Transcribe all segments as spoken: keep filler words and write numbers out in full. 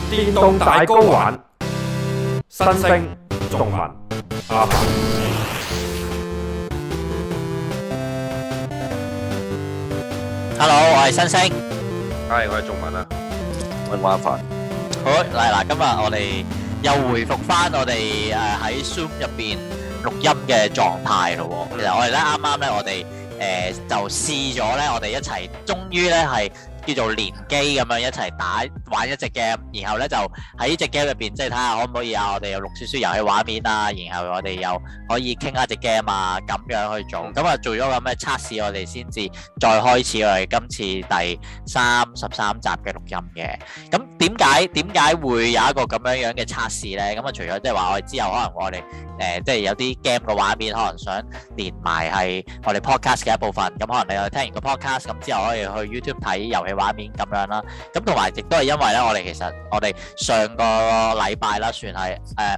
電動大 GO 玩，新星仲文阿凡。 Hello， 我係新星。 係，我係仲文啊。 我係阿凡。 好，嚟嗱，今日我哋又回復翻我哋誒喺 Zoom 入邊錄音嘅狀態咯。其實我哋咧啱啱咧，我哋誒就試咗咧，我哋一齊，終於咧係叫做連機咁樣一齊打玩一隻 game，然後咧就喺呢隻 game 入邊，即係睇下可唔可以啊，我哋又錄少少遊戲畫面啊，然後我哋又可以傾下隻 game 啊，咁樣去做。咁啊做咗咁嘅測試，我哋先至再開始我哋今次第三十三集嘅錄音嘅。咁點解點解會有一個咁樣樣嘅測試咧？咁啊除咗即係話我哋之後可能我哋誒即係有啲 game 嘅畫面，可能想連埋係我哋 podcast 嘅一部分。咁可能你又聽完個 podcast，咁之後可以去 YouTube 睇遊戲畫面咁樣啦，咁同埋亦都係因為咧，我哋其實我哋上個禮拜啦，算係誒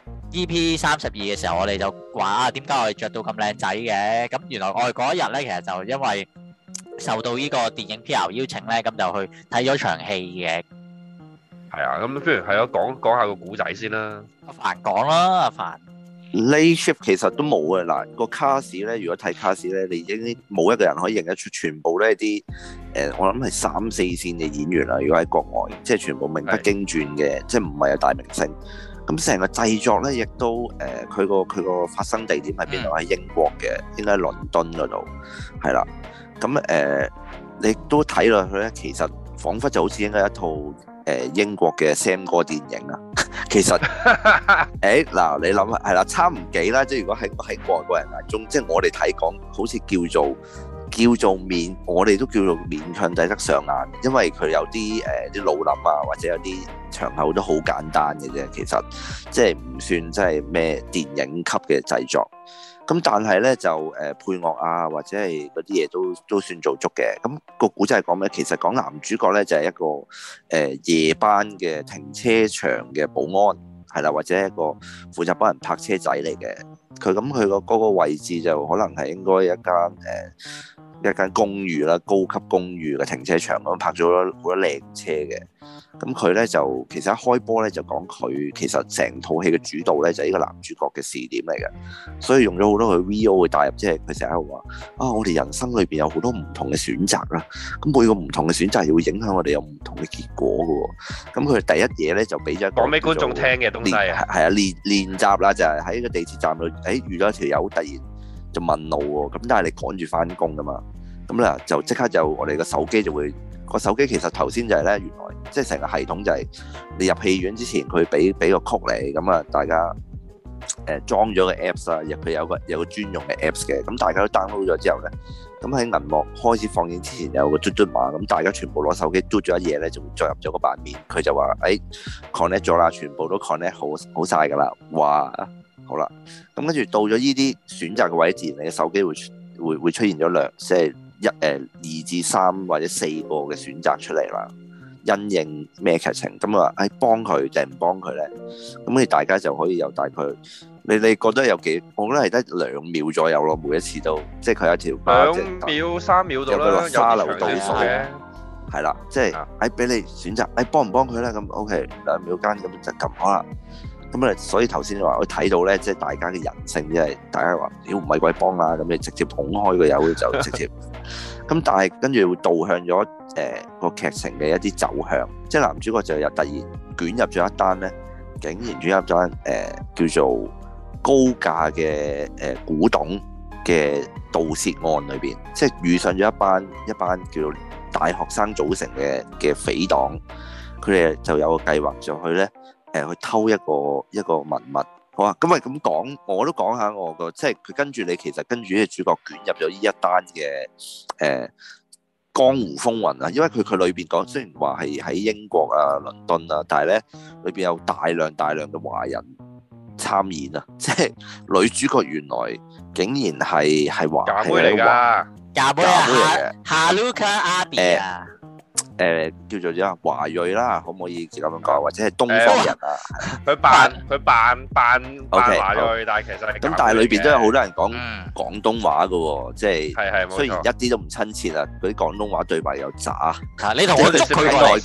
E P 三十二嘅時候，我哋就話啊，點解我哋着到咁靚仔嘅？咁原來我哋嗰一日咧，其實就因為受到呢個電影 P R 邀請咧，咁就去睇咗場戲嘅。 係啊，咁不如係咯，講講下個古仔先啦。 阿凡講啦，阿凡。 Late shift 其實都冇嘅嗱，個卡士咧，如果睇卡士咧，你已經冇一個人可以認得出，全部咧啲誒，我諗係三四線嘅演員啦。如果喺國外，即係全部名不經傳嘅，即係唔係有大明星。咁成個製作咧，亦都誒，佢個佢個發生地點喺邊度？喺英國嘅，應該喺倫敦嗰度，係啦。咁誒、呃，你都睇落去咧，其實彷彿就好似應該一套誒、呃、英國嘅 Sam 哥電影啊。其實，誒嗱，你諗下，係啦，差唔幾啦。即係如果喺喺外國人眼中，即係我哋睇講，好似叫做叫做勉，我哋都叫做勉強抵得上眼，因為佢有啲誒啲老林啊，或者有啲場口都好簡單嘅啫。其實即係唔算即係咩電影級嘅製作。咁但係咧就誒、呃、配樂啊，或者係嗰啲嘢都都算做足嘅。咁、那個古仔係講咩？其實講男主角咧就係、是、一個誒、呃、夜班嘅停車場嘅保安，係啦，或者一個負責幫人泊車仔嚟嘅。佢咁佢個嗰個位置就可能係應該一間誒、呃、一間公寓啦，高級公寓嘅停車場咁泊咗好多靚車嘅。咁佢咧就其實一開波咧就講佢其實成套戲嘅主導咧就係呢個男主角嘅視點嚟嘅，所以用咗好多佢 V O 去帶入，即係佢成日喺度話啊，我哋人生裏邊有好多唔同嘅選擇啦，咁每個唔同嘅選擇又會影響我哋有唔同嘅結果嘅喎。咁佢第一嘢咧就俾咗講俾觀眾聽嘅東西啊，係啊練練習啦，就係喺個地鐵站度，誒、哎、遇到一條友突然就問路喎，咁但係你趕住翻工噶嘛，咁咧就即刻就我哋個手機就會。個手機其實頭先就係咧，原來即係成個系統就係你入戲院之前，佢俾俾個曲你，咁啊大家誒裝咗個 Apps 啊，入佢有個有個專用嘅 Apps 嘅，咁大家都 download 咗之後咧，咁喺銀幕開始放映之前有個嘟嘟碼，咁大家全部攞手機嘟咗一嘢咧，就會進入咗個版面，佢就話誒 connect 咗啦，全部都 connect 好好曬㗎啦，哇好啦，咁跟住到咗呢啲選擇嘅位置，你嘅手機會會會出現咗兩即係。一誒、呃、二至三或者四個嘅選擇出嚟啦，因應咩劇情咁啊？誒幫佢定唔幫佢咧？咁你大家就可以有大概，你你覺得有幾？我覺得係得兩秒左右咯，每一次都即係佢有一條兩秒三秒到啦，有個沙漏倒數嘅，係啦，即係誒俾你選擇，誒幫唔幫佢咧？咁 OK 兩秒間咁就撳好啦。咁啊，所以頭先話我睇到咧，即係大家嘅人性，即係大家話妖唔係鬼幫啊，咁你直接捧開個友就直接。咁但係跟住會導向咗誒個劇情嘅一啲走向，即係男主角就有突然捲入咗一單咧，竟然捲入咗一誒叫做高價嘅誒古董嘅盜竊案裏邊，即係遇上咗一班一班叫做大學生組成嘅嘅匪黨，佢哋就有個計劃就去咧。誒去偷一個一個文物，好啊！咁咪咁講，我都講下我個，即係佢跟住你，其實跟住呢個主角捲入咗呢一單嘅誒、呃、江湖風雲啊！因為佢佢裏邊講，雖然話係喺英國啊、倫敦啊，但係咧裏邊有大量大量嘅華人參演啊！即係女主角原來竟然係係華假妹嚟㗎， 假妹嚟嘅，Haluka Abi 啊！ 誒、呃、叫做咗華裔啦，可唔可以咁樣講？或者係東方人啊？ 佢扮佢扮扮扮華裔， 好但係其實係咁，但係裏邊都有好多人講嗯廣東話嘅喎，即係係係雖然一啲都唔親切啊，嗰啲廣東話對白又渣。 啊，你同我捉佢過嚟，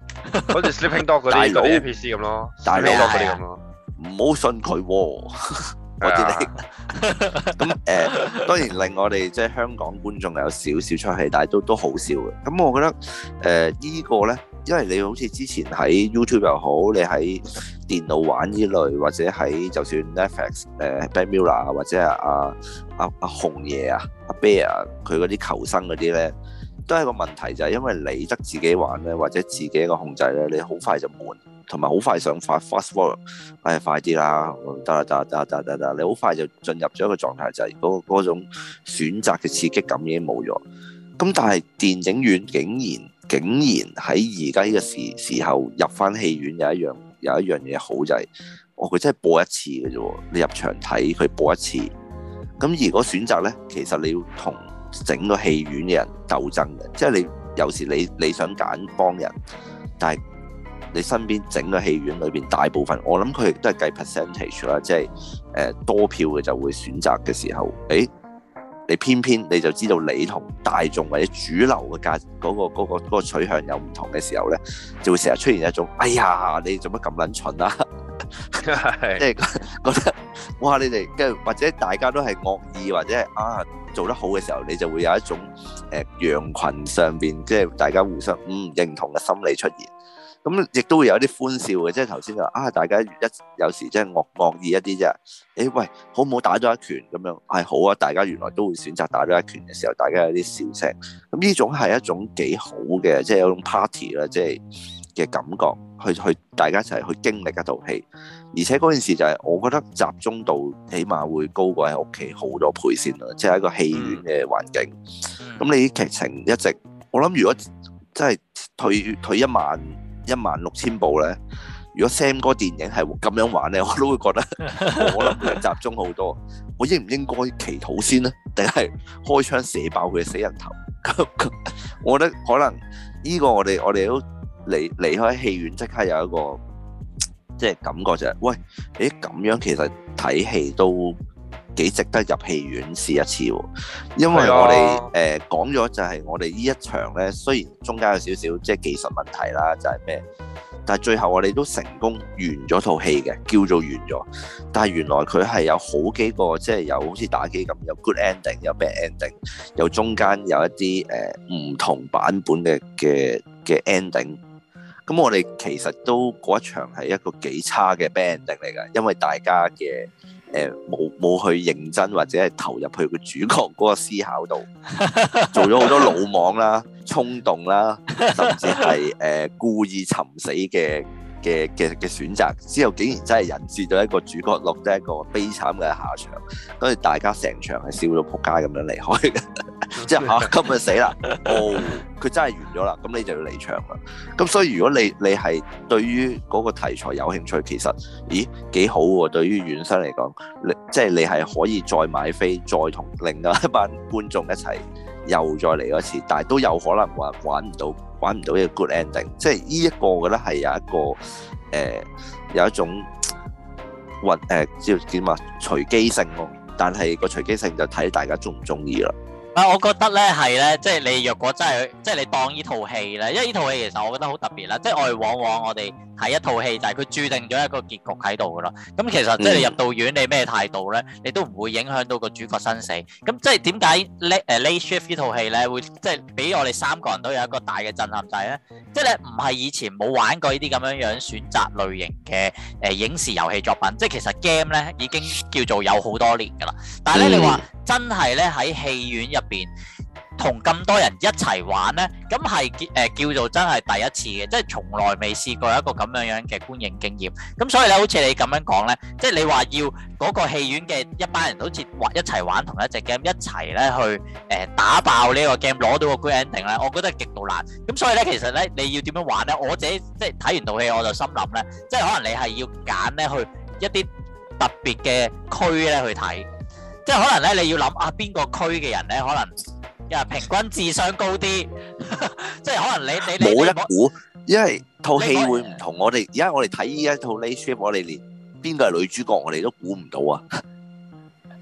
好似 Sleeping Dog 嗰啲嗰啲 N P C 咁咯，Sleeping Dog 嗰啲咁咯。 唔好信佢喎，我知你。咁誒，當然令我哋即係香港觀眾有少少出戲，但係都都好笑嘅。咁我覺得誒依個咧，因為你好似之前喺 YouTube 又好，你喺電腦玩依類，或者喺就算 Netflix 誒 Black Mirror 或者係阿阿阿紅爺啊、阿 Bear 佢嗰啲求生嗰啲咧，都係個問題，就係因為你得自己玩咧，或者自己一個控制咧，你好快就悶。同埋好快想快 fast forward，哎快啲啦，得啦得啦得啦得啦得啦，你好快就進入咗一個狀態，就係嗰嗰種選擇嘅刺激感已經冇咗。咁但係電影院竟然竟然喺而家呢個時時候入翻戲院有一樣有一樣嘢好就係，哦佢真係播一次嘅啫，你入場睇佢播一次。咁如果選擇咧，其實你要同整個戲院嘅人鬥爭嘅，即係你有時你你想揀幫人，但係你身邊整個戲院裏邊大部分，我諗佢亦都係計 percentage 啦，即係誒多票嘅就會選擇嘅時候，誒你偏偏你就知道你同大眾或者主流嘅價嗰個嗰個嗰個取向有唔同嘅時候咧，就會成日出現一種，哎呀你做乜咁撚蠢啊？即係覺得哇你哋跟住或者大家都係惡意或者係啊做得好嘅時候，你就會有一種誒羊群上邊即係大家互相嗯認同嘅心理出現。咁亦都會有啲歡笑嘅，即係頭先就啊，大家一有時真係惡惡意一啲啫。誒喂，好唔好打多一拳咁樣？係好啊，大家原來都會選擇打多一拳嘅時候，大家有啲笑聲。咁呢種係一種幾好嘅，即係有種 party 啦，即係嘅感覺，去去大家一齊去經歷一套戲。而且嗰件事就係，我覺得集中度起碼會高過喺屋企好多倍先啦，即係一個戲院嘅環境。咁你啲劇情一直，我諗如果真係退退一萬。一萬六千部咧，如果 Sam 哥電影係咁樣玩咧，我都會覺得我諗佢集中好多。我應唔應該祈禱先咧，定係開槍射爆佢嘅死人頭？我覺得可能呢個我哋我哋都離離開戲院即刻有一個即係感覺就係，喂，誒咁樣其實睇戲都幾值得入戲院試一次喎，因為我哋誒講咗就係我哋呢一場咧，雖然中間有少少即係技術問題啦，就係咩？但係最後我哋都成功完咗套戲嘅，叫做完咗。但係原來佢係有好幾個，即係有好似打機咁，有 good ending，有 bad ending，有中間有一啲誒唔同版本嘅嘅嘅 ending。咁我哋其實都嗰一場係一個幾差嘅 bad ending 嚟㗎，因為大家嘅誒冇冇去認真或者係投入去個主角嗰個思考度，做咗好多魯莽啦、衝動啦，甚至係誒、呃、故意尋死嘅嘅嘅嘅選擇，之後竟然真係引致到一個主角落得一個悲慘嘅下場，跟住大家成場係笑到仆街咁樣離開嘅，即係嚇今日死啦！哦，佢真係完咗啦，咁你就要離場啦。咁所以如果你你係對於嗰個題材有興趣，其實咦幾好喎？對於院生嚟講，你即係你係可以再買飛，再同另外一班觀眾一齊又再嚟一次，但係都有可能話玩唔到。玩唔到一個 good ending，即係呢一個我覺得係有一個誒、呃、有一種運誒叫點啊隨機性咯，但係個隨機性就睇大家中唔中意啦。 啊，我覺得咧係咧，即係你若果真係即係你當呢套戲咧，因為呢套戲其實我覺得好特別啦，即係我哋往往我哋睇一套戲就係佢注定咗一個結局喺度噶啦。咁其實即係你入到院，你咩態度咧，你都唔會影響到個主角生死。咁即係點解誒 Late Shift 呢套戲咧會即係俾我哋三個人都有一個大嘅震撼就係咧，即係咧唔係以前冇玩過呢啲咁樣樣選擇類型嘅誒影視遊戲作品，即係其實 game 咧已經叫做有好多年噶啦。但係咧、嗯、你話真係咧喺戲院入邊同咁多人一齊玩咧，咁係誒叫做真係第一次嘅，即係從來未試過一個咁樣樣嘅觀影經驗。咁所以咧，好似你咁樣講咧，即係你話要嗰個戲院嘅一班人好似玩一齊玩同一隻 game，一齊咧去誒、呃、打爆呢個 game，攞到個 good ending 咧，我覺得係極度難。咁所以咧，其實咧你要點樣玩咧？我自己即係睇完套戲，我就心諗咧，即係可能你係要揀咧去一啲特別嘅區咧去睇。即係可能咧，你要諗啊，邊個區嘅人咧，可能又平均智商高啲，即係可能你你你冇一估，因為套戲會唔同。我哋而家我哋睇依一套 Late Shift，我哋連邊個係女主角，我哋都估唔到啊！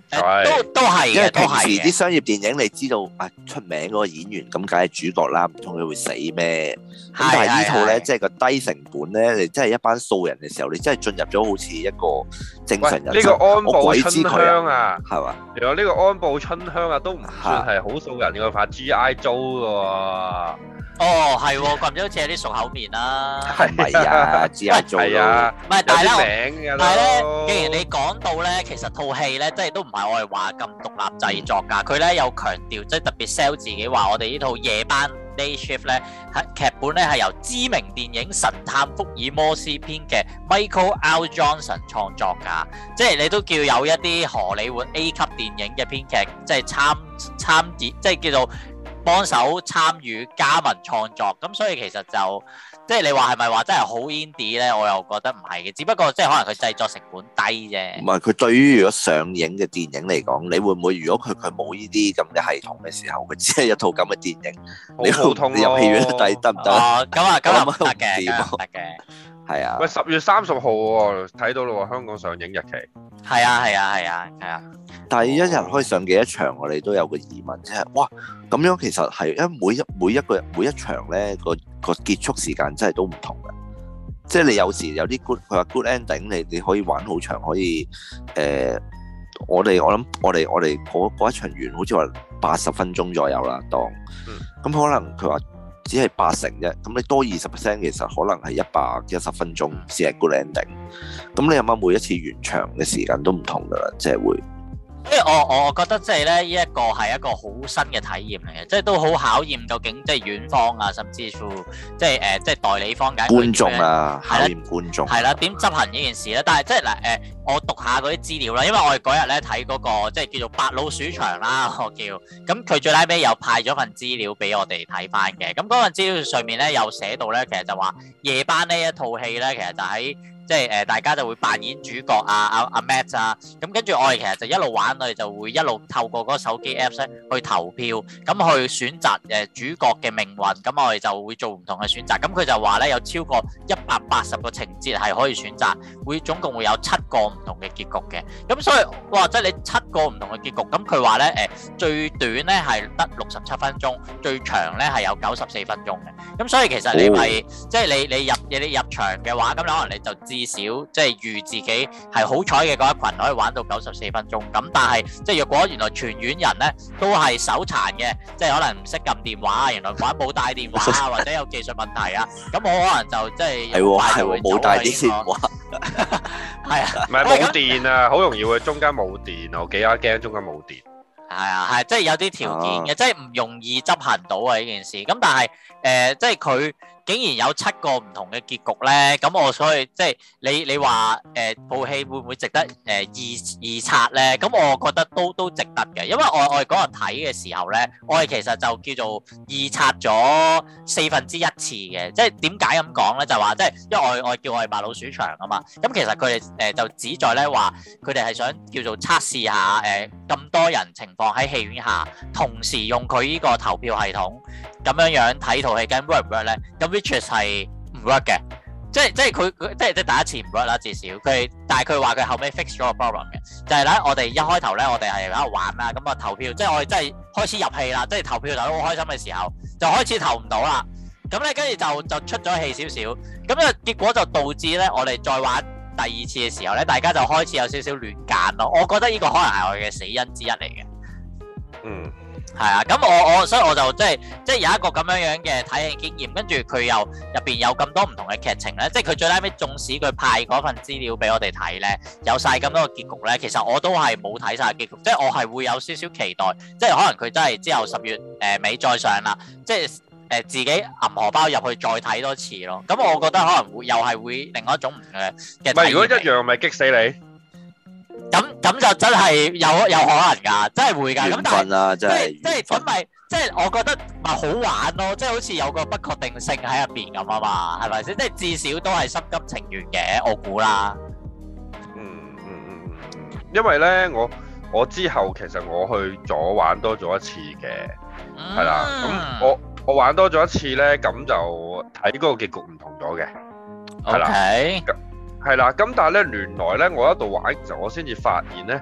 誒都都係因為嘅，都平時係嘅。 啲商業電影你知道啊出名嗰個演員咁梗係主角啦，唔通佢會死咩？咁但係呢套咧， 係即係個低成本咧，你真係一班素人嘅時候，你真係進入咗好似一個正常人呢個安我步鬼知佢春香啊， 係嘛？ 原來呢個安步春香啊，都唔算係好素人嘅，拍 G I Joe 嘅喎。 哦，係喎，咁好似有啲熟口面啦。 係咪啊？只係做係啊， 唔係， 有但係啲咧， 名㗎但係咧， 咯。 既然你講到咧，其實套戲咧，即係都唔係我哋話咁獨立製作㗎。佢咧有強調，即係特別 sell 自己話，我哋呢套夜班 day shift 咧，係劇本咧係由知名電影《神探福爾摩斯》編嘅 Michael L. Johnson 創作㗎。即係你都叫有一啲荷里活 A 級電影嘅編劇，即係參參演，即係叫做。幫手參與加盟創作，咁所以其實就即係你話係咪話真係好 indie 咧？我又覺得唔係嘅，只不過即係可能佢製作成本低啫。 唔係佢對於如果上映嘅電影嚟講，你會唔會如果佢佢冇呢啲咁嘅系統嘅時候，佢只係一套咁嘅電影，你好普通咯。 入戲院睇得唔得？ 哦，咁啊，咁啊唔得嘅， 掂啊咁啊唔得嘅。 係啊， 喂，十月三十號喎，睇到啦喎，香港上映日期。 係啊，係啊，係啊，係啊。 但係一日可以上幾多場，我哋都有個疑問，即係哇咁樣其實係因為每一每一個每一場咧個個結束時間真係都唔同嘅，即係你有時有啲 good 佢話 good ending，你你可以玩好長，可以誒、呃，我哋我諗我哋我哋嗰嗰一場完好似話八十分鐘左右啦，當咁、嗯、可能佢話只係八成啫，咁你多二十 percent 其實可能係一百一十分鐘先係 good ending，咁你諗下每一次完場嘅時間都唔同噶啦，即係會。 即係我我覺得即係咧，呢一個係一個好新嘅體驗嚟嘅，即係都好考驗究竟即係院方啊，甚至乎即係誒即係代理方嘅觀眾啊，考驗觀眾係啦，點執行呢件事咧？但係即係嗱誒，我讀下嗰啲資料啦，因為我哋嗰日咧睇嗰個即係叫做白老鼠場啦，我叫咁佢最拉尾又派咗份資料俾我哋睇翻嘅，咁嗰份資料上面咧有寫到咧，其實就話夜班呢一套戲咧，其實就喺。即係誒、呃，大家就會扮演主角啊，阿、啊、阿、啊、Matt 啊，咁跟住我哋其實就一路玩，我哋就會一路透過嗰個手機 Apps 咧去投票，咁去選擇誒主角嘅命運，咁我哋就會做唔同嘅選擇。咁佢就話咧有超過一百八十個情節係可以選擇，會總共會有七個唔同嘅結局嘅。咁所以哇，即係你七個唔同嘅結局，咁佢話咧誒最短咧係得六十七分鐘，最長咧係有九十四分鐘嘅。咁所以其實你咪、哦、即係你你入你入場嘅話，咁可能你就知。至少即係預自己係好彩嘅嗰一群可以玩到九十四分鐘，咁但係即係若果原來全院人咧都係手殘嘅，即係可能唔識撳電話，原來玩冇帶電話啊，或者有技術問題啊，咁我可能就即係係喎係喎冇帶啲電話，係啊， 唔係冇電啊，好容易會中間冇電啊，我幾啊驚中間冇電。 係啊係，即係有啲條件嘅，即係唔容易執行到啊呢件事。咁但係誒，即係佢。竟然有七個唔同嘅結局咧，咁我所以即係你你話誒部戲會唔會值得誒、呃、二二刷咧？咁我覺得都都值得嘅，因為我我哋嗰日睇嘅時候咧，我哋其實就叫做二刷咗四分之一次嘅。即係點解咁講咧？就話即係因為我我叫我哋白老鼠場啊嘛。咁其實佢哋誒就旨在咧話，佢哋係想叫做測試下誒咁、呃、多人情況喺戲院下，同時用佢呢個投票系統咁樣樣睇套戲，咁 work 唔 work 咧？咁 which 係唔 work 嘅，即係即係佢佢即係即係第一次唔 work 啦，至少佢，但係佢話佢後尾 fix 咗個 problem 嘅，就係咧我哋一開頭咧我哋係喺度玩啦，咁啊投票，即係我哋真係開始入戲啦，即係投票投得好開心嘅時候，就開始投唔到啦，咁咧跟住就就出咗氣少少，咁啊結果就導致咧我哋再玩第二次嘅時候咧，大家就開始有少少亂揀咯，我覺得呢個可能係我哋嘅死因之一嚟嘅， 嗯。 係啊，咁我我所以我就即係即係有一個咁樣樣嘅體驗經驗，跟住佢又入邊有咁多唔同嘅劇情咧，即係佢最拉尾，縱使佢派嗰份資料俾我哋睇咧，有晒咁多個結局咧，其實我都係冇睇晒結局，即係我係會有少少期待，即係可能佢真係之後十月誒尾再上啦，即係誒、呃、自己揞荷包入去再睇多次咯，咁我覺得可能會又係會另外一種唔嘅嘅體驗。唔係， 如果一樣咪激死你。 咁咁就真係有有可能㗎，真係會㗎。咁但係即係即係咁咪即係我覺得咪好玩咯，即係好似有個不確定性喺入邊咁啊嘛，係咪先？即係至少都係心甘情願嘅，我估啦。 嗯嗯嗯嗯嗯，因為咧我我之後其實我去咗玩多咗一次嘅，係啦、嗯。咁我我玩多咗一次咧，咁就睇嗰個結局唔同咗嘅，係啦。 Okay. 係啦，咁但係咧，原來咧，我一度玩就我先至發現咧，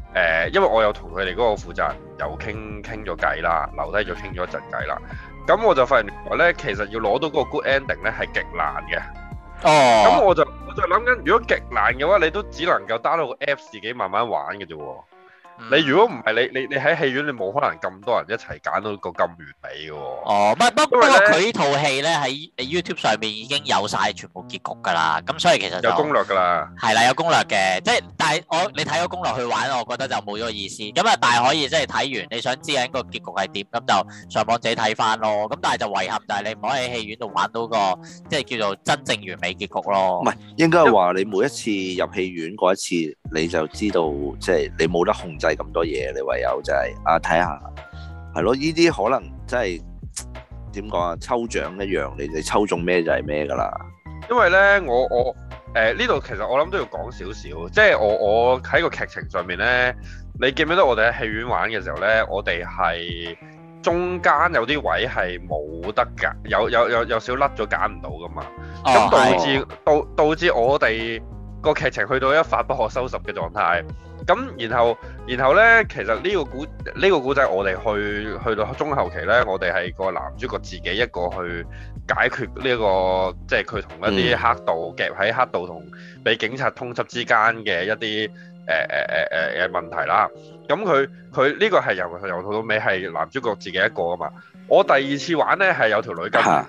呃，因為我有同佢哋嗰個負責人又傾傾咗偈啦，留低咗傾咗一陣偈啦。咁我就發現原來咧，其實要攞到嗰個 good ending 咧係極難嘅。哦。咁我就我就諗緊，如果極難嘅話，你都只能夠 download 個 app 自己慢慢玩嘅啫喎。你如果唔係你你你喺戲院，你冇可能咁多人一齊揀到個咁完美嘅喎。哦， 不不不過佢呢套戲咧喺 YouTube 上面已經有晒全部結局㗎啦，咁所以其實有攻略㗎啦。係啦，有攻略嘅，即係但係我你睇個攻略去玩，我覺得就冇咗個意思。咁啊，但係可以即係睇完，你想知緊個結局係點，咁就上網自己睇翻咯。咁但係就遺憾就係你唔可以喺戲院度玩到個即係叫做真正完美結局咯。 唔係應該係話你每一次入戲院嗰一次，你就知道即係你冇得控制咁多嘢，你唯有就係、是、啊睇下，係咯，呢啲可能真係點講啊，抽獎一樣，你哋抽中咩就係咩噶啦。 因為咧，我我誒呢度其實我諗都要講少少，即係我我喺個劇情上面咧，你記唔記得我哋喺戲院玩嘅時候咧，我哋係中間有啲位係冇得揀，有有有有少甩咗揀唔到噶嘛，咁、哦、導致導導致我哋個劇情去到一發不可收拾嘅狀態。咁然後然後咧，其實呢個故呢、呢個故仔我哋去去到中後期咧，我哋係個男主角自己一個去解決呢、呢個即係佢同一啲黑道夾喺黑道同俾警察通緝之間嘅一啲誒誒誒誒誒問題啦。咁佢佢呢個係由由頭到尾係男主角自己一個噶嘛。我第二次玩咧係有條女跟住喎。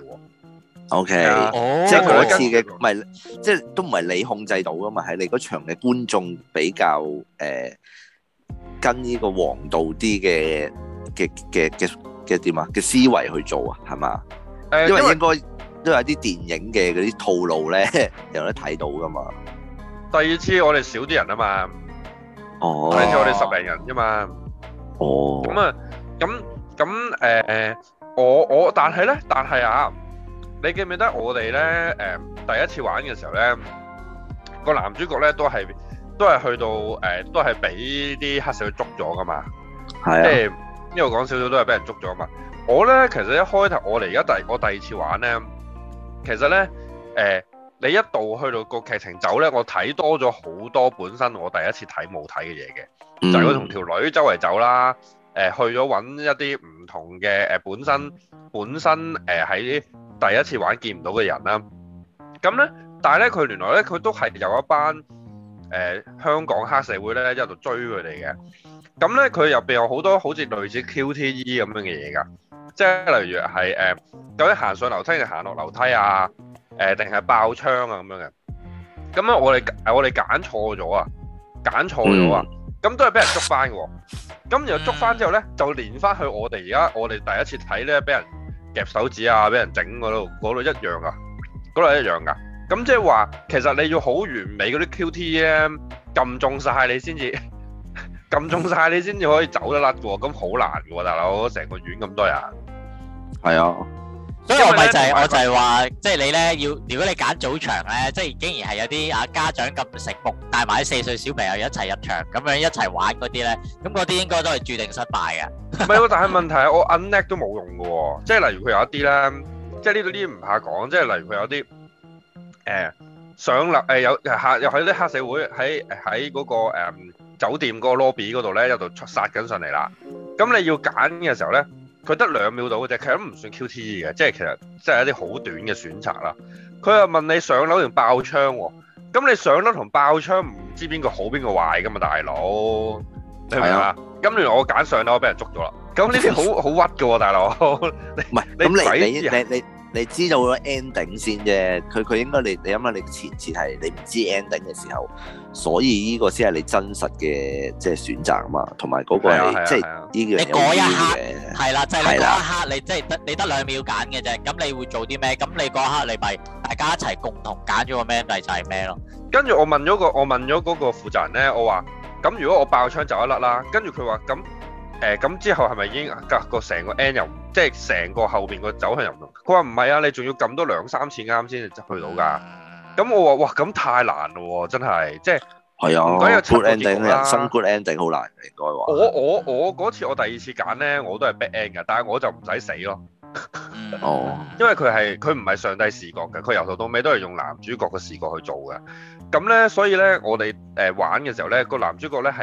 O K，即係嗰次嘅唔係，即係都唔係你控制到噶嘛，係你嗰場嘅觀眾比較誒、呃、跟呢個王道啲嘅嘅嘅嘅嘅點啊嘅思維去做啊，係嘛？誒、呃，因為應該都有啲電影嘅嗰啲套路咧，有得睇到噶嘛。 第二次我哋少啲人啊嘛，哦，第二次我哋十零人啫嘛，哦，咁啊，咁咁誒，我我但係咧，但係啊。你記唔記得我哋咧？誒、呃，第一次玩嘅時候咧，個男主角咧都係都係去到誒、呃，都係俾啲黑社會捉咗噶嘛。係啊。即係呢度講少少都係俾人捉咗嘛。我咧其實一開頭我哋而家第我第二次玩咧，其實咧誒、呃，你一度去到個劇情走咧，我睇多咗好多本身我第一次睇冇睇嘅嘢嘅，嗯、就係佢同條女周圍走啦。誒、呃，去咗揾一啲唔同嘅誒、呃，本身本身誒喺。呃第一次玩見唔到嘅人啦，咁咧，但係咧佢原來咧佢都係有一班誒、呃、香港黑社會咧一路追佢哋嘅，咁咧佢入邊有好多好似類似 Q T E 咁樣嘅嘢㗎，即係例如係誒、呃、究竟行上樓梯定行落樓梯啊，誒定係爆槍啊咁樣嘅，咁咧我哋我哋揀錯咗啊，揀錯咗啊，咁、嗯、都係俾人捉翻嘅喎，咁然後捉翻之後咧就連翻去我哋而家我哋第一次睇咧俾人夾手指啊，俾人整嗰度，嗰度一樣噶，嗰度一樣噶。咁即係話，其實你要好完美嗰啲 Q T 咧，撳中晒你先至，撳中晒你先至可以走得甩嘅喎。咁好難嘅喎，大佬，成個院咁多人。係啊， 所以我咪就係、是、我就係話，即係你咧要，如果你揀早場咧，即係竟然係有啲啊家長咁醒目，帶埋啲四歲小朋友一齊入場，咁樣一齊玩嗰啲咧，咁嗰啲應該都係注定失敗嘅。 唔係喎，但係問題係我 unlock 都冇用嘅喎，即係例如佢有一啲咧，即係呢度呢啲唔怕講，即係例如佢有啲誒、呃、上樓誒、呃、有嚇又係啲黑社會喺喺嗰個、呃、酒店嗰個 lobby 嗰度咧，有度殺緊上嚟啦。咁你要揀嘅時候咧，佢得兩秒到嘅啫，其實都唔算 Q T E 嘅，即係其實即係一啲好短嘅選擇啦。佢又問你上樓定爆槍喎，咁你上樓同爆槍唔知邊個好邊個壞噶嘛，大佬，你明唔明啊？咁原來我揀上樓，我俾人捉咗啦。咁呢啲好好屈嘅喎，大佬。唔係，咁你你你你你知道個 ending 先啫。佢佢應該你你諗下，你前設係你唔知 ending 嘅時候，所以呢個先係你真實嘅即係選擇啊嘛。同埋嗰個係即係呢樣有啲嘅。係啦，就係你嗰一刻，你即係得你得兩秒揀嘅啫。咁你會做啲咩？咁你嗰一刻你咪大家一齊共同揀咗個咩咪就係咩咯。跟住我問咗個我問咗嗰個負責人咧，我話。咁如果我爆槍走一甩啦，跟住佢話咁誒咁之後係咪已經隔個成個 end 又即係成個後邊個走向又唔同？佢話唔係啊，你仲要撳多兩三次啱先至去到㗎。咁我話哇，咁太難咯喎，真係即係係啊。唔該有七個結局啦，人生 good ending 好難應該話。我我我嗰次我第二次揀咧，我都係 bad end 㗎，但係我就唔使死咯。哦，因為佢係佢唔係上帝視角嘅，佢由頭到尾都係用男主角嘅視角去做嘅。咁咧，所以咧，我哋誒玩嘅時候咧，個男主角咧係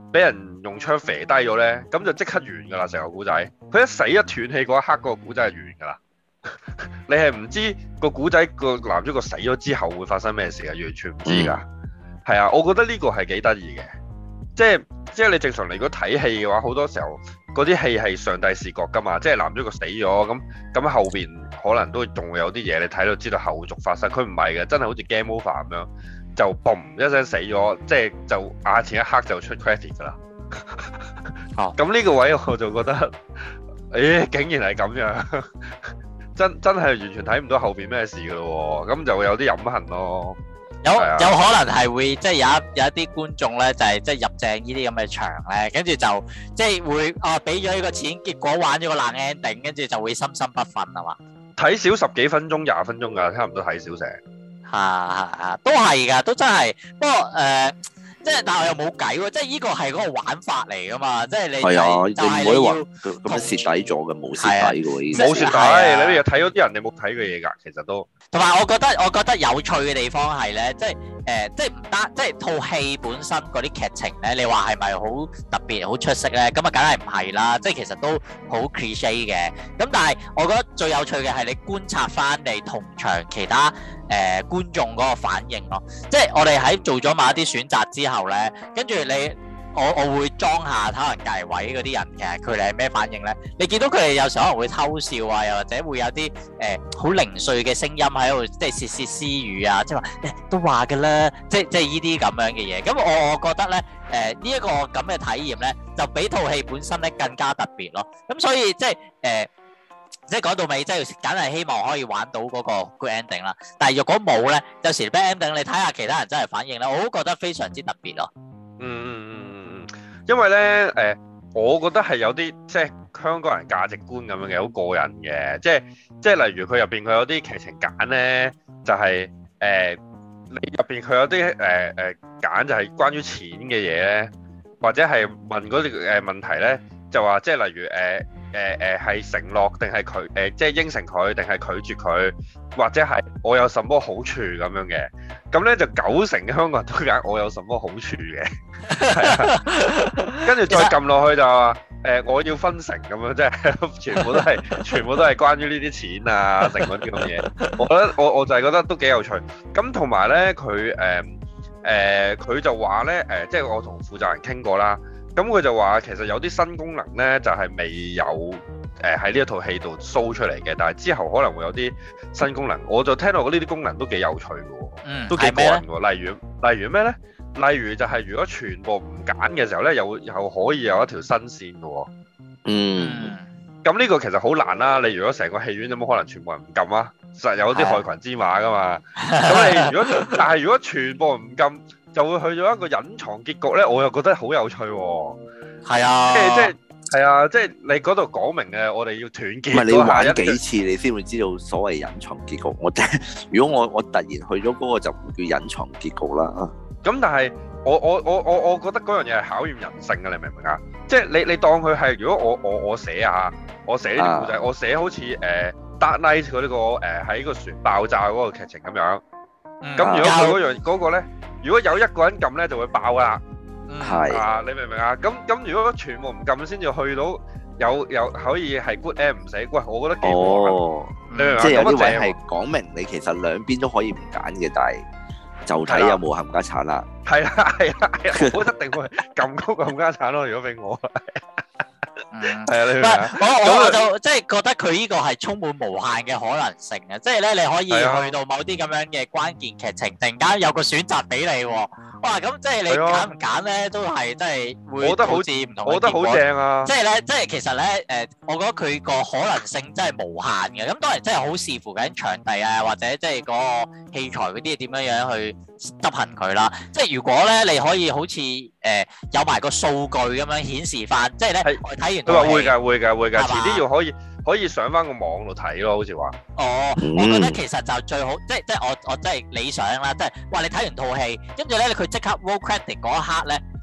俾人用槍射低咗咧，咁就即刻完㗎啦成個古仔。佢一死一斷氣嗰一刻，個古仔係完㗎啦。你係唔知個古仔個男主角死咗之後會發生咩事嘅，完全唔知㗎。係、嗯、啊，我覺得呢個係幾得意嘅，即係即係你正常嚟如果睇戲嘅話，好多時候嗰啲戲係上帝視角㗎嘛，即係男主角死咗咁咁後邊可能都仲會有啲嘢你睇到知道後續發生，佢唔係嘅，真係好似 game over 咁樣，就嘣一聲死咗，即係就眼前一刻就出 credit 㗎啦。哦，咁呢個位我就覺得，誒竟然係咁樣。真真係完全睇唔到後邊咩事噶咯喎，咁就會有啲飲恨咯。 有有可能係會即係有一有一啲觀眾咧，就係即係入正呢啲咁嘅場咧，跟住就即係會啊俾咗呢個錢，結果玩咗個爛 ending，跟住就會心心不忿係嘛？ 睇少十幾分鐘、廿分鐘㗎，差唔多睇少成。 係係係，都係㗎，都真係。不過誒。即係，但係我又冇計喎。即係呢個係嗰個玩法嚟噶嘛。即係你係啊，就係你要咁樣蝕底咗嘅，冇蝕底嘅喎，已經冇蝕底。你又睇咗啲人，你冇睇嘅嘢㗎，其實都。 同埋我覺得，我覺得有趣嘅地方係咧，即係誒、呃，即係唔單，即係套戲本身嗰啲劇情咧，你話係咪好特別、好出色咧？咁啊，梗係唔係啦。即係其實都好 cliche 嘅。咁但係我覺得最有趣嘅係你觀察翻你同場其他誒、呃、觀眾嗰個反應咯。即係我哋喺做咗某一啲選擇之後咧，跟住你。我我會裝下睇人隔位嗰啲人嘅，佢哋係咩反應咧？你見到佢哋有時可能會偷笑啊，又或者會有啲誒好零碎嘅聲音喺度，即係竊竊私語啊，即係話誒都話㗎啦，即係即係依啲咁樣嘅嘢。咁我我覺得咧，誒呢一個咁嘅體驗咧，就比套戲本身咧更加特別咯。咁所以即係誒、呃，即係講到尾，即係梗係希望可以玩到嗰個 good ending 啦。但係若果冇咧，有時 bad ending，你睇下其他人真係反應咧，我都覺得非常之特別咯。 嗯嗯嗯。因為咧，誒、呃，我覺得係有啲即係香港人價值觀咁樣嘅，好過癮嘅。即係即係例如佢入邊佢有啲劇情揀咧，就係、是、誒、呃，你入邊佢有啲誒誒揀就係關於錢嘅嘢咧，或者係問嗰啲誒問題咧，就話即係例如誒誒誒係承諾定係佢誒即係應承佢定係拒絕佢，或者係我有什麼好處咁樣嘅。咁咧就九成嘅香港人都揀我有什麼好處嘅。係啊，跟住再撳落去就話誒、呃，我要分成咁樣，即係全部都係全部都係關於呢啲錢啊、成嗰啲咁嘅嘢。我覺得我我就係覺得都幾有趣。咁同埋咧，佢誒誒佢就話咧誒，即係我同負責人傾過啦。咁佢就話其實有啲新功能咧，就係、是、未有誒喺呢一套戲度 show 出嚟嘅，但係之後可能會有啲新功能。我就聽到呢啲功能都幾有趣嘅喎，嗯、都幾過癮喎。例如例如咩咧？例如就係如果全部唔揀嘅時候咧，又又可以有一條新線嘅喎。 嗯。 咁呢個其實好難啦。你如果成個戲院有冇可能全部人唔撳啊？實有啲害群之馬噶嘛。咁你如果但係如果全部人唔撳，就會去咗一個隱藏結局咧。我又覺得好有趣喎。係啊。即係即係係啊！即係你嗰度講明嘅，我哋要團結。唔係你玩幾次你先會知道所謂隱藏結局。我如果我我突然去咗嗰個就唔叫隱藏結局啦。咁但係我我我我我覺得嗰樣嘢係考驗人性嘅，你明唔明啊？即係你你當佢係如果我我我寫啊，我寫呢啲故仔，我寫好似誒 Dark Knight 嗰呢個誒喺個船爆炸嗰個劇情咁樣。咁如果佢嗰樣嗰個咧，如果有一個人撳咧就會爆啦。係啊，你明唔明啊？咁咁如果全部唔撳先至去到有有可以係 good end 唔死，喂，我覺得幾好玩。你明唔明啊？即係有啲位係講明你其實兩邊都可以唔揀嘅，但係。就睇有冇冚家鏟啦，係啦係啦係啦，我一定會撳高個冚家鏟咯。如果俾我，係啊，你明唔明啊？我我就即係覺得佢呢個係充滿無限嘅可能性嘅，即係咧你可以去到某啲咁樣嘅關鍵劇情，突然間有個選擇俾你喎。哇！咁即係你揀唔揀咧，都係真係會導致唔同嘅結果。我覺得好正啊！即係咧，即係其實咧，誒，我覺得佢個可能性真係無限嘅。咁當然真係好視乎緊場地啊，或者即係嗰個器材嗰啲嘢點樣樣去執行佢啦。即係如果咧，你可以好似誒有埋個數據咁樣顯示翻，即係咧我睇完都話會㗎，會㗎，會㗎，遲啲要可以。可以上翻個網度睇咯，好似話。哦，我覺得其實就最好，即係即係我我真係理想啦，即係話你睇完套戲，跟住咧佢即刻 roll credit 嗰一刻咧，就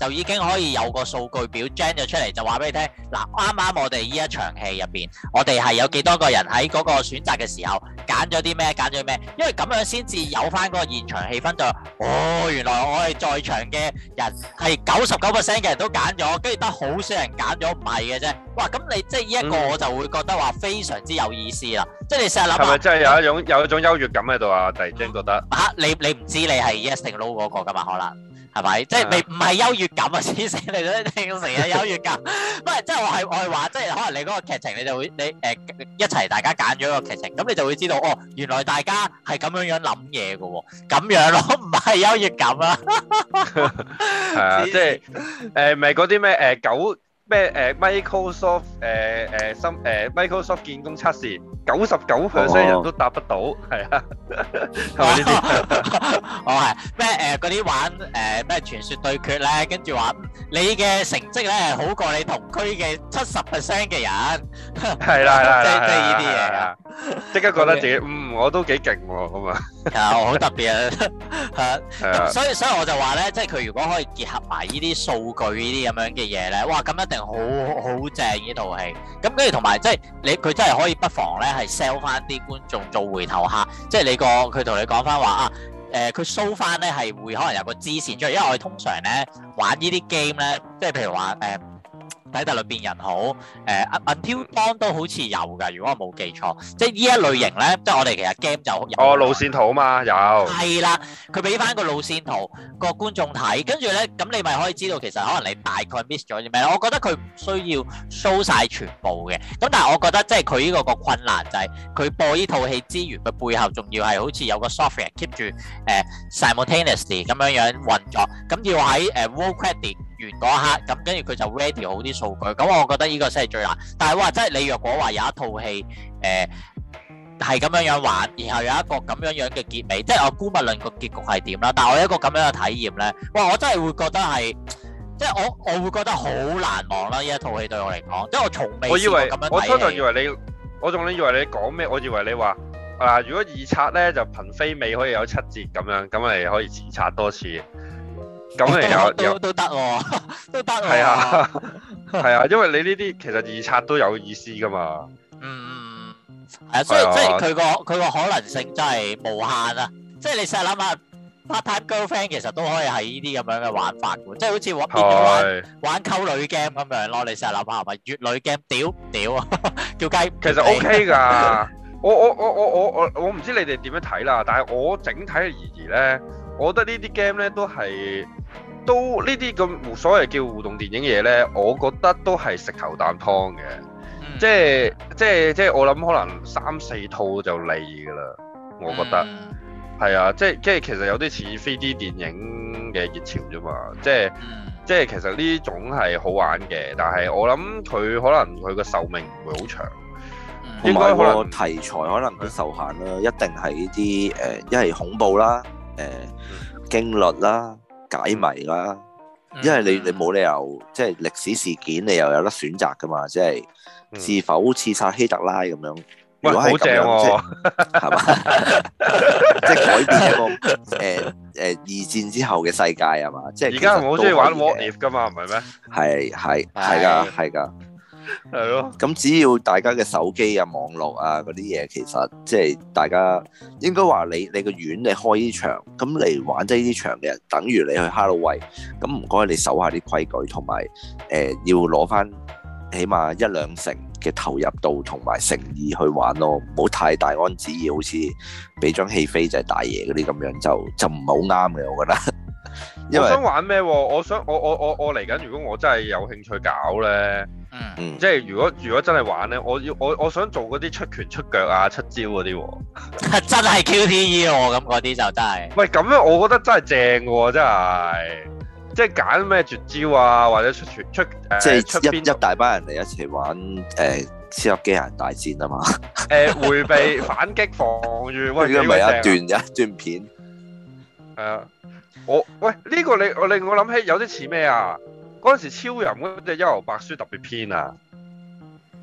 就已經可以有個數據表 gen 咗出嚟，就話俾你聽。嗱，啱啱我哋呢一場戲入邊，我哋係有幾多個人喺嗰個選擇嘅時候揀咗啲咩，揀咗咩？因為咁樣先至有翻嗰個現場氣氛就，哦，原來我哋在場嘅人係九十九 percent 嘅人都揀咗，跟住得好少人揀咗唔係嘅啫。哇！咁你即係呢一個我就會覺得話非常之有意思啦。嗯、即係你成日諗下，係咪真係有一種有一種優越感喺度啊？突然之間覺得嚇、啊、你你唔知你係 yes 定 no 嗰個噶嘛？可能。係咪？即係你唔係優越感啊！黐線，你都聽成日優越感。唔係，即係我係我係話，即係可能你嗰個劇情，你就會你誒、呃、一齊大家揀咗個劇情，咁你就會知道哦，原來大家係咁樣樣諗嘢嘅喎，咁樣咯，唔係優越感啊。 係啊，即係誒，咪嗰啲咩誒九咩誒 Microsoft 誒誒深誒 Microsoft 見工測試。九十九 percent 人都答得到，係啊，係咪呢啲？ 我係咩誒嗰啲玩誒咩傳説對決咧，跟住話你嘅成績咧係好過你同區嘅七十 percent 嘅人， 係啦係啦， 即係即係呢啲嘢啊！ 即刻覺得自己嗯我都幾勁喎咁啊！ 係我好特別啊！係咁，所以所以我就話咧，即係佢如果可以結合埋呢啲數據呢啲咁樣嘅嘢咧，哇！咁一定好好正呢套戲。咁跟住同埋即係你佢真係可以不妨咧。係 sell 翻啲觀眾做回頭客，即係你個佢同你講翻話啊，誒佢 show 翻咧係會可能有個支線出嚟，因為我哋通常咧玩呢啲 game 咧，即係譬如話誒。呃睇特律變人好，誒、呃、Until Dawn 都好似有㗎，如果我冇記錯，即係呢一類型咧，即係我哋其實 game 就有哦路線圖啊嘛，有係啦，佢俾翻個路線圖個觀眾睇，跟住咧咁你咪可以知道其實可能你大概 miss 咗啲咩。我覺得佢唔需要 show 晒全部嘅，咁但係我覺得即係佢呢個個困難就係佢播呢套戲之餘，佢背後仲要係好似有個 software keep 住誒、呃、simultaneously 咁樣樣運作，咁要喺誒 roll credit完嗰一刻，咁跟住佢就 ready 好啲數據，咁我覺得呢個先係最難。但係哇，真係你若果話有一套戲誒係咁樣樣玩，然後有一個咁樣樣嘅結尾，即係我估無論個結局係點啦，但係我有一個咁樣嘅體驗咧，哇！我真係會覺得係，即係我我會覺得好難忘啦！呢一套戲對我嚟講，即係我從未試過咁樣睇戲。 我初頭以為你，我仲以為你講咩？我以為你話啊，如果二刷咧就憑飛尾可以有七折咁樣，咁咪可以自刷多次。咁嚟有都都得喎，都得喎。 係啊，係啊，因為你呢啲其實二刷都有意思噶嘛。 嗯，係啊，所以即係佢個佢個可能性真係無限啊！即係你成日諗下 part-time girlfriend 其實都可以係呢啲咁樣嘅玩法嘅，即係好似玩變咗玩玩溝女 game 咁樣咯。你成日諗下係咪乙女 game 屌屌啊？叫雞其實 OK 㗎。我我我我我我我唔知你哋點樣睇啦，但係我整體而言咧，我覺得呢啲 game 咧都係。都呢啲咁所謂叫互動電影嘢咧，我覺得都係食頭啖湯嘅，嗯，即係即係即係我諗可能三四套就膩㗎啦，我覺得係，嗯，啊，即係即係其實有啲似 三 D 電影嘅熱潮啫嘛，即係，嗯，即係其實呢種係好玩嘅，但係我諗佢可能佢個壽命唔會好長， 嗯，應該可能題材可能都受限啦，一定係呢啲誒一係恐怖啦，誒，呃嗯，驚慄啦。解謎啦，因為你你冇理由即係歷史事件，你又有得選擇噶嘛？即係是否刺殺希特拉咁樣？如果係咁樣，即係係嘛？即係改變一個誒誒二戰之後嘅世界係嘛？即係而家我好中意玩 What If 噶嘛？唔係咩？ 係係係㗎係㗎。 係咯， 咁只要大家嘅手機啊、網絡啊嗰啲嘢，其實即係大家應該話你你個院你開呢場，咁嚟玩即係呢場嘅人，等於你去 Halloween，咁唔該你守下啲規矩，同埋誒要攞翻起碼一兩成嘅投入度同埋誠意去玩咯，唔好太大安旨意，好似俾張戲飛就係大爺嗰啲咁樣，就就唔係好啱嘅，我覺得。因為我想玩咩？我想我我我我嚟緊，如果我真係有興趣搞咧。嗯，即係如果如果真係玩咧，我要我我想做嗰啲出拳出腳啊出招嗰啲喎， 真係 Q T E 喎，咁嗰啲就真係。 喂，咁樣我覺得真係正喎，真係，即係揀咩絕招啊，或者出拳出誒， 即係出邊一大班人嚟一齊玩誒超級機械人大戰啊嘛。 誒迴避反擊防禦，喂， 呢個咪一段一段片。 係啊，我喂呢個你我令我諗起有啲似咩啊？嗰陣時超人嗰隻幽遊白書特別篇啊，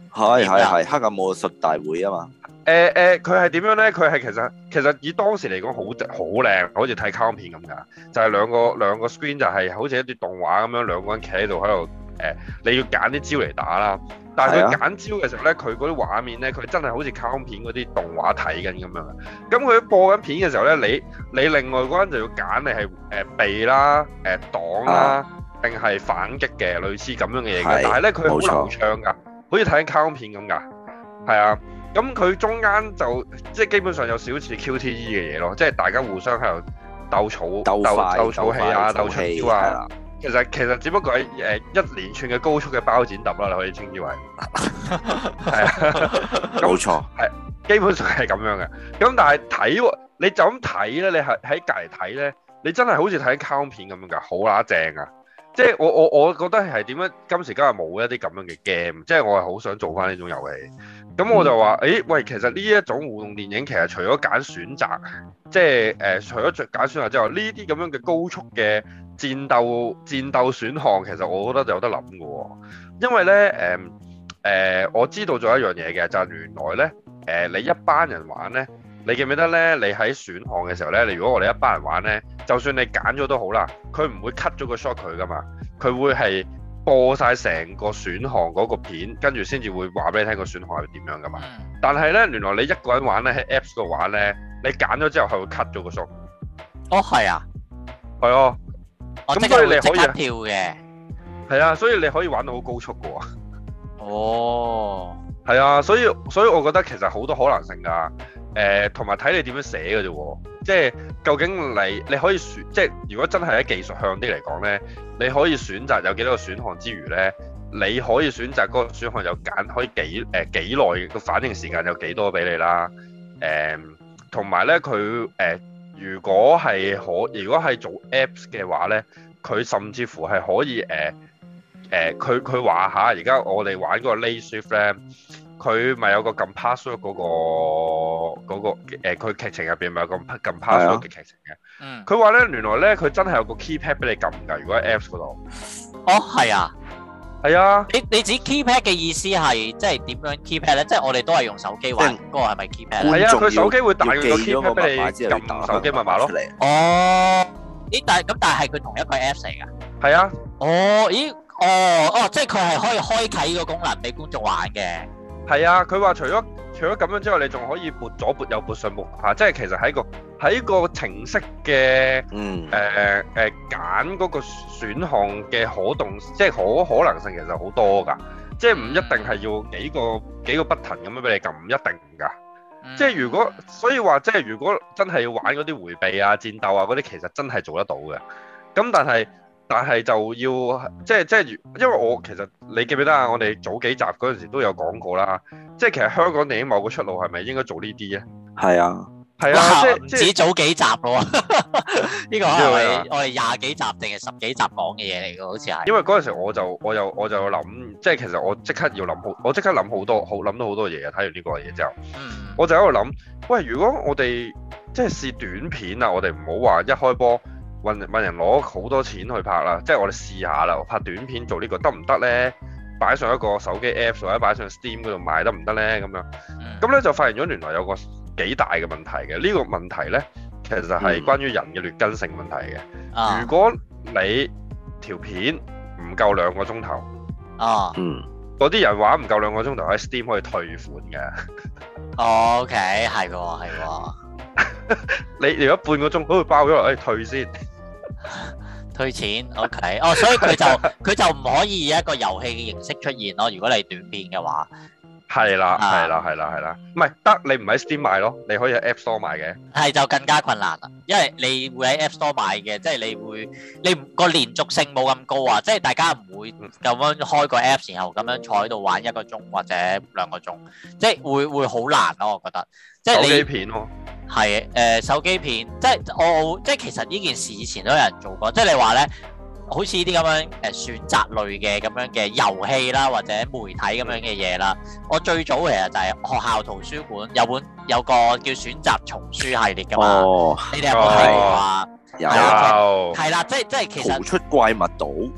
係係係黑暗武術大會啊嘛。 誒誒，佢係點樣咧？佢係其實其實以當時嚟講好好靚，好似睇卡通片咁㗎。就係、是、兩個兩個 screen 就係好似一啲動畫咁樣，兩個人企喺度喺度誒，你要揀啲招嚟打啦。但係佢揀招嘅時候咧，佢嗰啲畫面咧，佢真係好似卡通片嗰啲動畫睇緊咁樣。咁佢播緊片嘅時候咧，你你另外嗰人就要揀你係誒避啦、誒擋啦，定係反擊嘅，類似咁樣嘅嘢嘅。但係咧，佢好流暢㗎，好似睇緊卡通片咁㗎。係啊。咁佢中間就即係基本上有少少似 Q T E 嘅嘢咯，即係大家互相喺度鬥草、鬥鬥草氣啊、鬥出招啊。其實其實只不過係誒一連串嘅高速嘅包剪揼啦，你可以稱之為係啊， 冇錯， 係基本上係咁樣嘅。咁但係睇你就咁睇咧，你係喺隔離睇咧，你真係好似睇卡通片咁樣㗎，好乸正啊！即係我我我覺得係點樣今時今日冇一啲咁樣嘅 game，即係我係好想做翻呢種遊戲。咁我就話，誒、欸，喂，其實呢一種互動電影其實除咗揀選擇，即係誒、呃，除咗揀選擇之外，呢啲咁樣嘅高速嘅戰鬥戰鬥選項，其實我覺得就有得諗嘅喎。因為咧，誒、呃、誒、呃，我知道咗一樣嘢嘅，就係、是、原來咧，誒、呃，你一班人玩咧，你記唔記得咧？你喺選項嘅時候咧，你如果我哋一班人玩咧，就算你揀咗都好啦，佢唔會 cut 咗個 shot 佢噶嘛，佢會係播晒成個選項嗰個片，跟住先至會話俾你聽個選項係點樣噶嘛。但係咧，原來你一個人玩咧，喺 Apps 度玩咧，你揀咗之後係會 cut 咗個 shot。 哦，係啊， 係啊。咁所以你可以跳嘅。 係啊，所以你可以玩到好高速噶喎。 哦。係啊，所以所以我覺得其實好多可能性㗎。誒，同埋睇你點樣寫嘅啫喎，即係究竟你你可以選，即係如果真係喺技術向啲嚟講咧，你可以選擇有幾多個選項之餘咧，你可以選擇嗰個選項有揀可以幾誒幾耐個反應時間有幾多俾你啦。誒，同埋咧佢誒，如果係可，如果係做 Apps 嘅話咧，佢甚至乎係可以誒誒，佢佢話下而家我哋玩嗰個 Late Shift 咧。佢咪有個撳 password 嗰個嗰個誒，佢劇情入邊咪有個撳 password 嘅劇情嘅。嗯。佢話咧，原來咧佢真係有個 keypad 俾你撳㗎。如果喺 Apps 嗰度。 哦，係啊。係啊。 你你指 keypad 嘅意思係即係點樣 keypad 咧？即係我哋都係用手機玩，嗰個係咪 keypad 咧？ 係啊，佢手機會彈個 keypad 俾你撳手機密碼咯。 哦。咦？但係咁，但係佢同一個 Apps 嚟㗎。 係啊。 哦，咦？哦哦，即係佢係可以開啟呢個功能俾觀眾玩嘅。 係啊，佢話除咗除咗咁樣之外，你仲可以撥左撥右撥上撥下，即係其實喺個喺個程式嘅誒誒揀嗰個選項嘅可動，即係可可能性其實好多㗎，即係唔一定係要幾個幾個 button 咁樣俾你撳，唔一定㗎。嗯、即係如果所以話，即係如果真係要玩嗰啲迴避啊、戰鬥啊嗰啲，其實真係做得到嘅。咁但係。但係就要即係即係，因為我其實你記唔記得啊？我哋早幾集嗰陣時都有講過啦。即係其實香港電影某個出路係咪應該做呢啲咧？ 係啊， 係啊，即係唔止早幾集咯。呢個係我我哋廿幾集定係十幾集講嘅嘢嚟㗎，好似係。 因為嗰陣時我就我又我就諗，即係其實我即刻要諗好，我即刻諗好多好諗到好多嘢啊！睇完呢個嘢之後，嗯、我就喺度諗，喂，如果我哋即係試短片啊，我哋唔好話一開波。揾揾人攞好多錢去拍啦，即係我哋試下啦，拍短片做呢個得唔得咧？擺上一個手機 Apps 或者擺上 Steam 嗰度賣得唔得咧？咁樣，咁咧就發現咗原來有個幾大嘅問題嘅。呢個問題咧，其實係關於人嘅劣根性問題嘅。如果你條片唔夠兩個鐘頭， 啊， 嗯， 嗰啲人話唔夠兩個鐘頭喺 Steam 可以退款嘅。 OK，係喎，係喎。 你如果半個鐘都會包咗落，誒退先。 退錢 ，OK，哦，所以佢就佢就唔可以以一個遊戲嘅形式出現咯。如果你短片嘅話， 係啦，係啦，係啦，係啦，唔係得你唔喺 Steam 買咯，你可以喺 App Store 買嘅。係就更加困難啦，因為你會喺 App Store 買嘅，即係你會你個連續性冇咁高啊，即係大家唔會咁樣開個 App 然後咁樣坐喺度玩一個鐘或者兩個鐘，即係會會好難咯，我覺得。即係你手機片咯，係誒、呃、手機片，即係我即係其實呢件事以前都有人做過，即係你話咧，好似呢啲咁樣誒選擇類嘅咁樣嘅遊戲啦，或者媒體咁樣嘅嘢啦。我最早其實就係學校圖書館有本有個叫選擇叢書系列㗎嘛，哦、你哋有冇睇過啊？ 有， 係啦，即係即係其實逃出怪物島。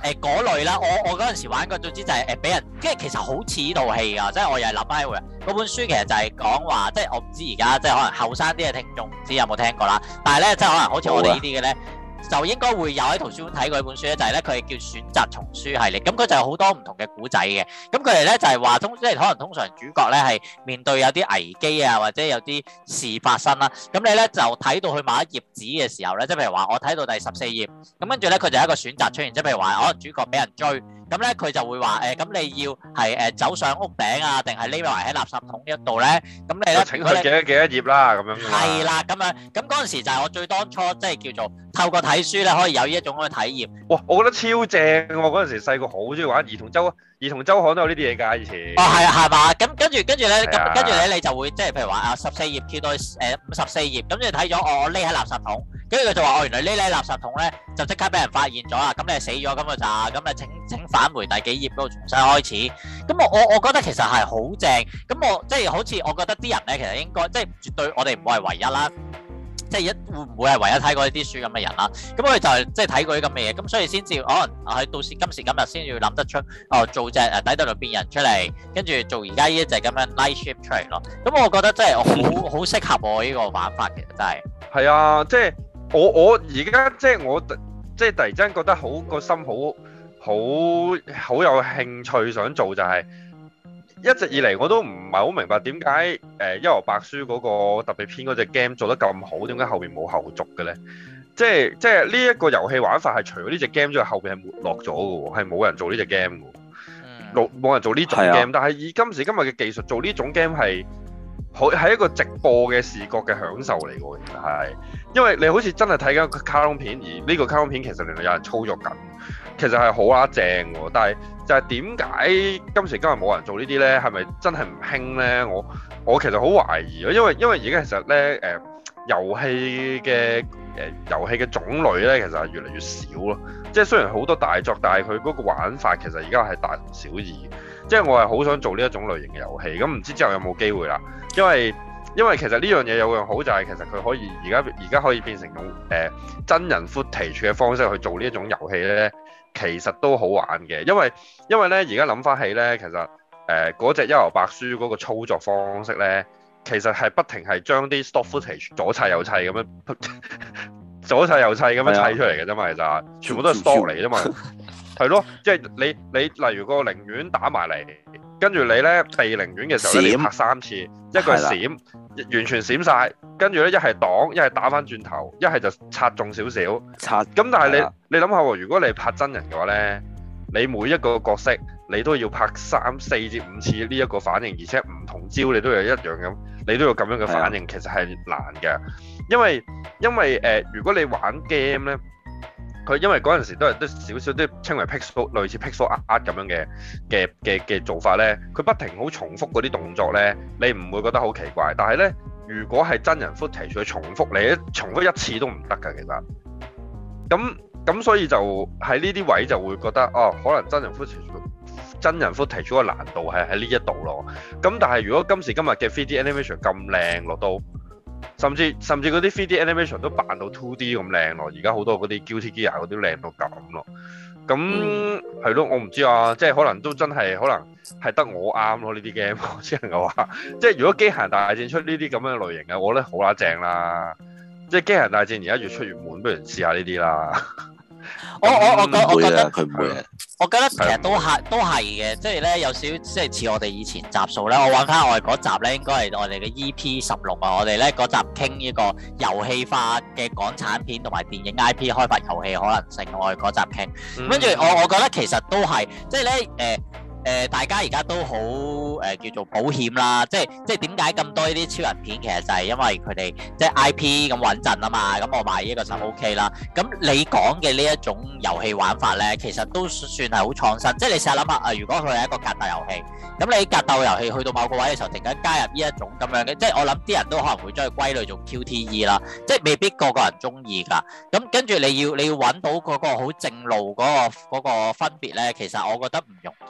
誒嗰類啦，我我嗰陣時玩過，總之就係誒俾人，即係其實好似呢套戲㗎，即係我又係諗翻起嗰本書，其實就係講話，即係我唔知而家即係可能後生啲嘅聽眾唔知有冇聽過啦，但係咧即係可能好似我哋呢啲嘅咧。就應該會有喺圖書館睇過一本書咧，就係咧佢係叫選擇叢書系列，咁佢就有好多唔同嘅古仔嘅，咁佢哋咧就係話通，即係可能通常主角咧係面對有啲危機啊，或者有啲事發生啦，咁你咧就睇到去某一頁紙嘅時候咧，即係譬如話我睇到第十四頁，咁跟住咧佢就有一個選擇出現，即係譬如話可能主角俾人追。咁咧佢就會話誒，咁、呃、你要係誒、呃、走上屋頂啊，定係匿埋喺垃圾桶一度咧？咁你咧請佢幾多幾多頁啦，咁樣。 係啦，咁樣咁嗰陣時就係我最當初即係叫做透過睇書咧，可以有呢一種嘅體驗。 哇！我覺得超正喎！嗰陣時細個好中意玩兒童周兒童週刊都有呢啲嘢㗎，以前。哦，係啊，係嘛？咁跟住跟住咧，咁跟住咧你就會即係譬如話啊十四頁跳到誒五十四頁，咁你睇咗我我匿喺垃圾桶，跟住佢就話哦原來匿喺垃圾桶咧就即刻俾人發現咗啦，咁你係死咗咁嘅咋，咁啊請請返回第幾頁嗰度重新開始。咁我我我覺得其實係好正，咁我即係好似我覺得啲人咧其實應該即係絕對我哋唔會係唯一啦。即係一會唔會係唯一睇過呢啲書咁嘅人啦？咁佢就係即係睇過啲咁嘅嘢，咁所以先至可能喺到時今時今日先要諗得出哦，做隻誒底特律變人出嚟，跟住做而家呢一隻咁樣 Night Shift 出嚟咯。咁我覺得真係好好適合我呢個玩法，其實真係。係啊，即係我我而家即係我即係突然之間覺得好個心好好好有興趣想做就係、是。一直以嚟我都唔係好明白點解誒《幽遊白書》嗰個特別篇嗰隻 game 做得咁好，點解後邊冇後續嘅咧？即係即係呢一個遊戲玩法係除咗呢隻 game 之外，後邊係沒落咗嘅喎，係冇人做呢隻 game 嘅，冇冇人做呢種 game。但係以今時今日嘅技術做呢種 game 係好係一個直播嘅視覺嘅享受嚟嘅喎，其實係，因為你好似真係睇緊個卡通片，而呢個卡通片其實原來有人操作緊。其實係好啦正喎，但係就係點解今時今日冇人做呢啲咧？係咪真係唔興咧？我我其實好懷疑咯，因為因為而家其實咧誒遊戲嘅誒遊戲嘅種類咧，其實係越嚟越少咯。即係雖然好多大作，但係佢嗰個玩法其實而家係大同小異。即係我係好想做呢一種類型嘅遊戲，咁唔知之後有冇機會啦？因為因為其實呢樣嘢有樣好就係其實佢可以而家而家可以變成用誒、呃、真人 footage 嘅方式去做呢一種遊戲咧。其實都好玩嘅，因為因為咧而家諗翻起咧，其實誒嗰隻《幽遊白書》嗰個操作方式咧，其實係不停係將啲 stock footage 左砌右砌咁樣，左砌右砌咁樣砌出嚟嘅啫嘛，其實全部都係 stock 嚟啫嘛，係咯，即係你你例如個寧願打埋嚟，跟住你咧避寧願嘅時候咧，閃你拍三次，一個係閃，完全閃晒。跟住咧，一係擋，一係打翻轉頭，一係就擦中少少。擦。咁但係你你諗下喎，如果你拍真人嘅話咧，你每一個角色你都要拍三四至五次呢一個反應，而且唔同招你都有一樣咁，你都要咁樣嘅反應，其實係難嘅。因為因為誒、呃，如果你玩 game 咧，佢因為嗰陣時都係都少少都稱為 pixel 類似 pixel art 咁樣嘅嘅嘅嘅做法咧，佢不停好重複嗰啲動作咧，你唔會覺得好奇怪，但係咧。如果係真人 footage 去重複你，重複一次都唔得㗎，其實。咁咁所以就喺呢啲位就會覺得，哦，可能真人 footage 真人 footage 嗰個難度係喺呢一度咯。咁但係如果今時今日嘅 three D animation 咁靚落到，甚至甚至嗰啲 three D animation 都扮到 two D 咁靚咯。而家好多嗰啲 Guilty Gear 嗰啲靚到咁咯。咁係咯，我唔知啊，即係可能都真係可能係得我啱咯呢啲 game，我只能夠話，即係如果機械人大戰出呢啲咁樣類型嘅，我覺得好乸正啦。即係機械人大戰而家越出越悶，不如試下呢啲啦。我我我覺我覺得佢唔會，我覺得其實都係都係嘅，即係咧有少即係似我哋以前集數咧，我揾翻我哋嗰集咧，應該係我哋嘅 E P 十六啊，我哋咧嗰集傾呢個遊戲化嘅港產片同埋電影 I P 開發遊戲可能性，我哋嗰集傾，跟住我我覺得其實都係，即係咧誒。呃誒、呃，大家而家都好誒、呃，叫做保險啦，即係即係點解咁多呢啲超人片？其實就係因為佢哋即係 I P 咁穩陣啊嘛，咁我買呢個就 OK 啦。咁你講嘅呢一種遊戲玩法咧，其實都算係好創新。即係你試下諗下啊，如果佢係一個格鬥遊戲，咁你格鬥遊戲去到某個位嘅時候，突然間加入呢一種咁樣嘅，即係我諗啲人都可能會將佢歸類做 Q T E 啦，即係未必個個人中意㗎。咁跟住你要你要揾到嗰個好正路嗰、嗰個嗰個分別咧，其實我覺得唔容易嘅。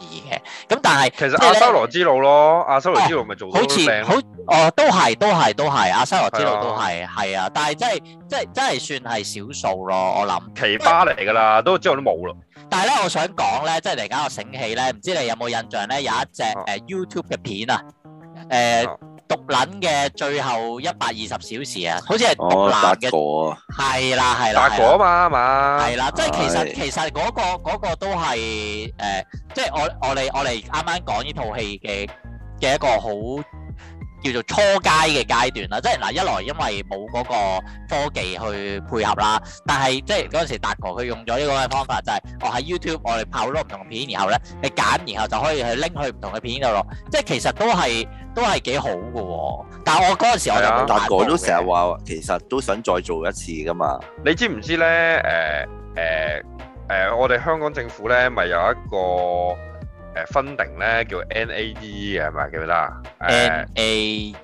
咁但係其實阿修羅之路咯，阿修羅之路咪做到好似好哦，都係都係都係阿修羅之路都係係啊，但係真係真係真係算係少數咯，我諗奇葩嚟㗎啦，都之後都冇咯。 但係咧，我想講咧，即係嚟緊我醒起咧，唔知你有冇印象咧？有一隻誒、呃、YouTube 嘅片啊，誒、呃。啊獨撚嘅最後一百二十小時啊，好似係獨男嘅，係啦係啦， 達哥啊嘛嘛， 係啦，即係其實其實嗰個嗰個都係誒，即係我我哋我哋啱啱講呢套戲嘅嘅一個好叫做初階嘅階段啦，即係嗱一來因為冇嗰個科技去配合啦，但係即係嗰陣時達哥佢用咗呢個嘅方法，就係我喺 YouTube 我哋拍好多唔同嘅片，然後咧你揀，然後就可以去拎去唔同嘅片度咯，即係其實都係都係幾好嘅喎。但係我嗰陣時我就冇達哥都成日話，其實都想再做一次噶嘛。 你知唔知咧？誒誒誒，我哋香港政府咧咪有一個誒分定咧叫 N A E 嘅係咪記唔記得啊 ？N A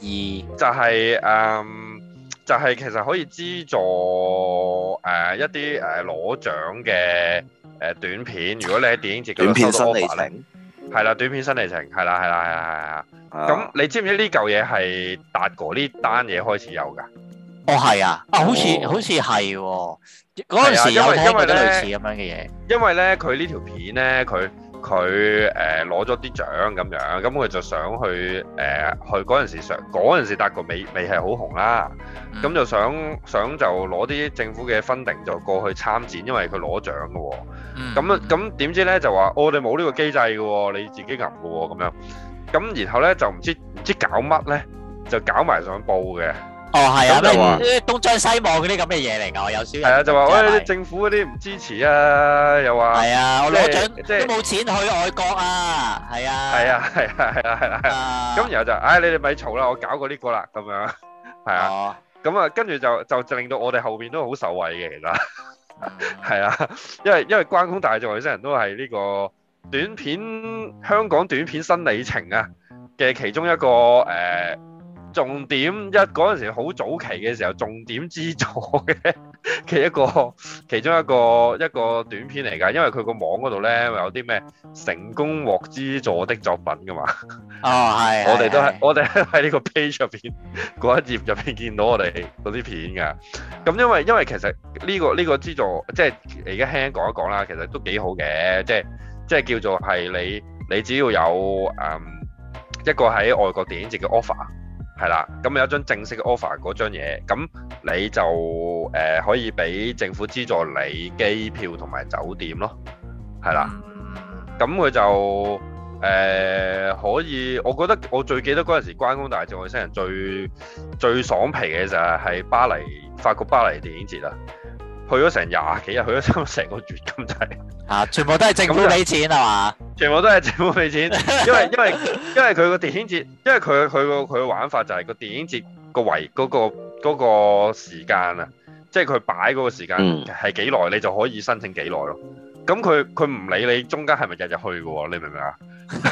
E 就係誒就係其實可以資助誒一啲誒攞獎嘅誒短片，如果你喺電影節嗰度收到 offer 咧，係啦，短片新里程係啦係啦係啦係啊！咁你知唔知呢嚿嘢係達哥呢單嘢開始有㗎？ 哦係啊，啊好似好似係喎，嗰陣時有聽過啲類似咁樣嘅嘢。 因為咧佢呢條片咧佢。佢誒攞咗啲獎咁樣，咁佢就想去誒、呃、去嗰陣時想嗰陣時達哥未未係好紅啦，咁、嗯、就想想就攞啲政府嘅 funding 就過去參展，因為佢攞獎嘅喎。咁咁點知咧就話我哋冇呢個機制嘅喎，你自己揞嘅喎咁樣。咁然後咧就唔知唔知搞乜咧，就搞埋上報嘅。 哦，係啊，咩東張西望嗰啲咁嘅嘢嚟㗎，我有少係啊，就話喂政府嗰啲唔支持啊，又話係啊，我攞獎即係都冇錢去外國啊，係啊， 係啊，係啊，係啊，係啊，咁然後就唉，你哋咪嘈啦，我搞過呢個啦，咁樣係啊，咁啊，跟住就就令到我哋後邊都好受惠嘅，其實係啊，因為因為關公大戰外星人都係呢個短片香港短片新里程啊嘅其中一個誒。重點一嗰陣時好早期嘅時候，重點資助嘅嘅一個其中一個一個短片嚟㗎，因為佢個網嗰度咧有啲咩成功獲資助的作品㗎嘛。 哦，係。 我哋都係我哋喺呢個 page 入邊嗰一頁入邊見到我哋嗰啲片㗎。咁因為因為其實呢個呢個資助即係而家輕輕講一講啦，其實都幾好嘅，即係即係叫做係你你只要有誒、嗯、一個喺外國電影節嘅 offer。係啦，咁有一張正式嘅 offer 嗰張嘢，咁你就誒、呃、可以俾政府資助你機票同埋酒店咯，係啦，咁佢就誒、呃、可以，我覺得我最記得嗰陣時關公大戰外星人最最爽皮嘅就係係巴黎法國巴黎電影節啦，去咗成廿幾日，去咗差唔多成個月咁滯。啊！ 全部都係政府俾錢係嘛？ 全部都係政府俾錢，因為因為因為佢個電影節，因為佢佢個佢個玩法就係個電影節個圍嗰個嗰個時間啊，即係佢擺嗰個時間係幾耐，你就可以申請幾耐咯。咁佢佢唔理你中間係咪日日去嘅喎，你明唔明啊？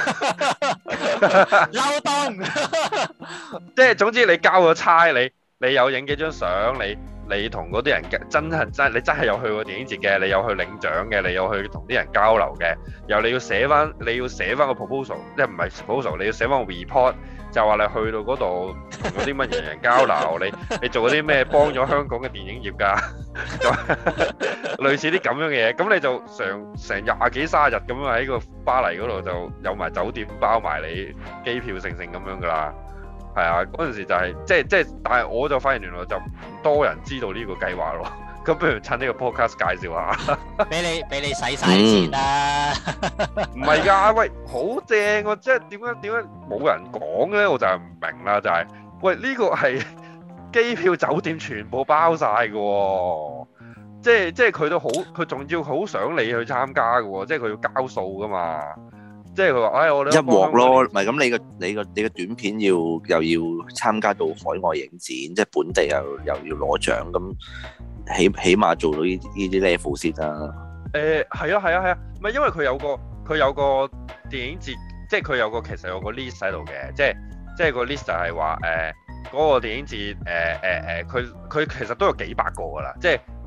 嬲東， 即係總之你交咗差，你你有影幾張相，你。你同嗰啲人真係真，你真係有去過電影節嘅，你有去領獎嘅，你有去同啲人交流嘅，又你要寫翻，你要寫翻個 proposal，即係唔係 proposal，你要寫翻個 report，就話你去到嗰度同嗰啲乜人人交流，你你做嗰啲咩幫咗香港嘅電影業㗎，類似啲咁樣嘅嘢，咁你就成成廿幾卅日咁樣喺個巴黎嗰度就有埋酒店包埋你機票成成咁樣㗎啦。係啊，嗰陣時就係、是、即係即係，但係我就發現原來就唔多人知道呢個計劃咯。咁不如趁呢個 podcast 介紹下， 俾你俾你使晒錢啦。 唔係㗎，喂，好正喎！即係點解點解冇人講咧？我就係唔明啦，就係、是、喂呢、這個係機票酒店全部包晒嘅喎，即係即係佢都好，佢仲要好想你去參加嘅喎，即係佢要交數㗎嘛。即係佢話，哎，我哋一鑊咯，唔係咁你個你個你個短片要又要參加到海外影展，即係本地又又要攞獎，咁起起碼做到呢呢啲 level 先啦。 誒係啊係啊係啊，唔係因為佢有個佢有個電影節，即係佢有個其實有個 list 喺度嘅，即係即係個 list 就係話誒嗰個電影節誒誒誒，佢、呃、佢其實都有幾百個㗎啦，即係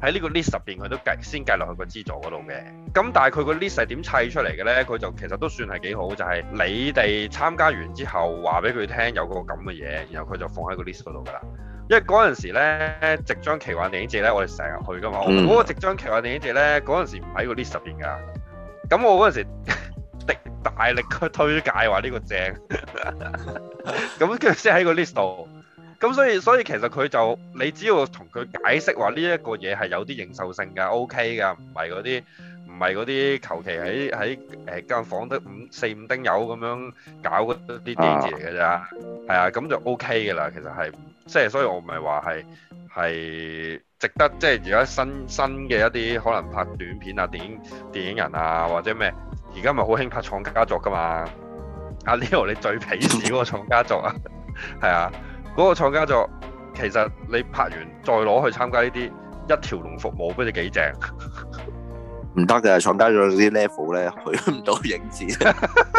喺呢個 list 入邊佢都計先計落去個資助嗰度嘅。咁但係佢個 list 係點砌出嚟嘅咧？佢就其實都算係幾好，就係、是、你哋參加完之後話俾佢聽有個咁嘅嘢，然後佢就放喺個 list 嗰度㗎啦。因為嗰陣時咧，夕張奇幻電影節咧，我哋成日去㗎嘛。嗰、嗯、個夕張奇幻電影節咧，嗰陣時唔喺個 list 入邊㗎。咁我嗰陣時的大力去推介話呢個正，咁佢先喺個 list 度。咁所以所以其實佢就你只要同佢解釋話呢一個嘢係有啲認受性㗎 ，OK 㗎，唔係嗰啲唔係嗰啲求其喺喺誒間房得五四五丁友咁樣搞嗰啲電影節嚟㗎咋，係啊，咁就 OK 㗎啦。其實係即係，所以我唔係話係係值得即係而家新新嘅一啲可能拍短片啊、電影電影人啊或者咩，而家咪好興拍創家作㗎嘛。阿 Leo 你最鄙視嗰個創家作啊，係啊。嗰個創家作其實你拍完再攞去參加呢啲一條龍服務，不知幾正？ 唔得嘅，創家作啲 level 咧去唔到影展。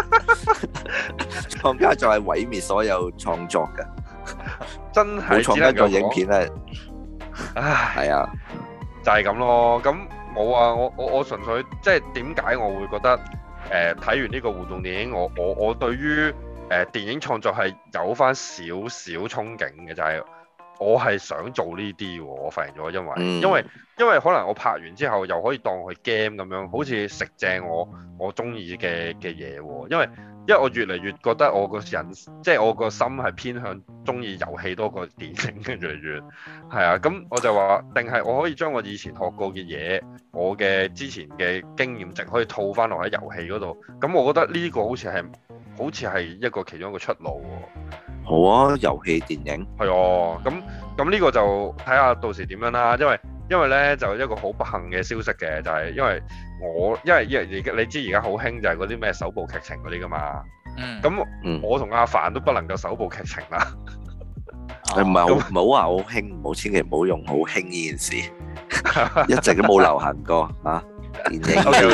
創家作係毀滅所有創作嘅， 真係創家作影片咧。唉，係啊， 就係咁咯。咁冇啊，我我我純粹即係點解我會覺得誒睇完呢個互動電影，我我我對於誒、呃、電影創作係有翻少少憧憬嘅，就係、是、我係想做呢啲喎。我發現咗，因為、嗯、因為因為可能我拍完之後又可以當佢 game 咁樣，好似食正我我中意嘅嘅嘢喎。因為因為我越嚟越覺得我個人即係我個心係偏向中意遊戲多過電影嘅，越嚟越係啊。咁我就話，定係我可以將我以前學過嘅嘢，我嘅之前嘅經驗值可以套翻落喺遊戲嗰度。咁我覺得呢個好似係。好似係一個其中一個出路喎。 好啊，遊戲電影係啊，咁咁呢個就睇下到時點樣啦。因為因為咧就一個好不幸嘅消息嘅，就係、是、因為我因為因為而家你知而家好興就係嗰啲咩首部劇情嗰啲噶嘛。嗯。咁、嗯、我同阿凡都不能夠首部劇情啦。 誒唔係好唔好話好興，唔好千祈唔好用好興呢件事，一直都冇流行過啊。電影 okay,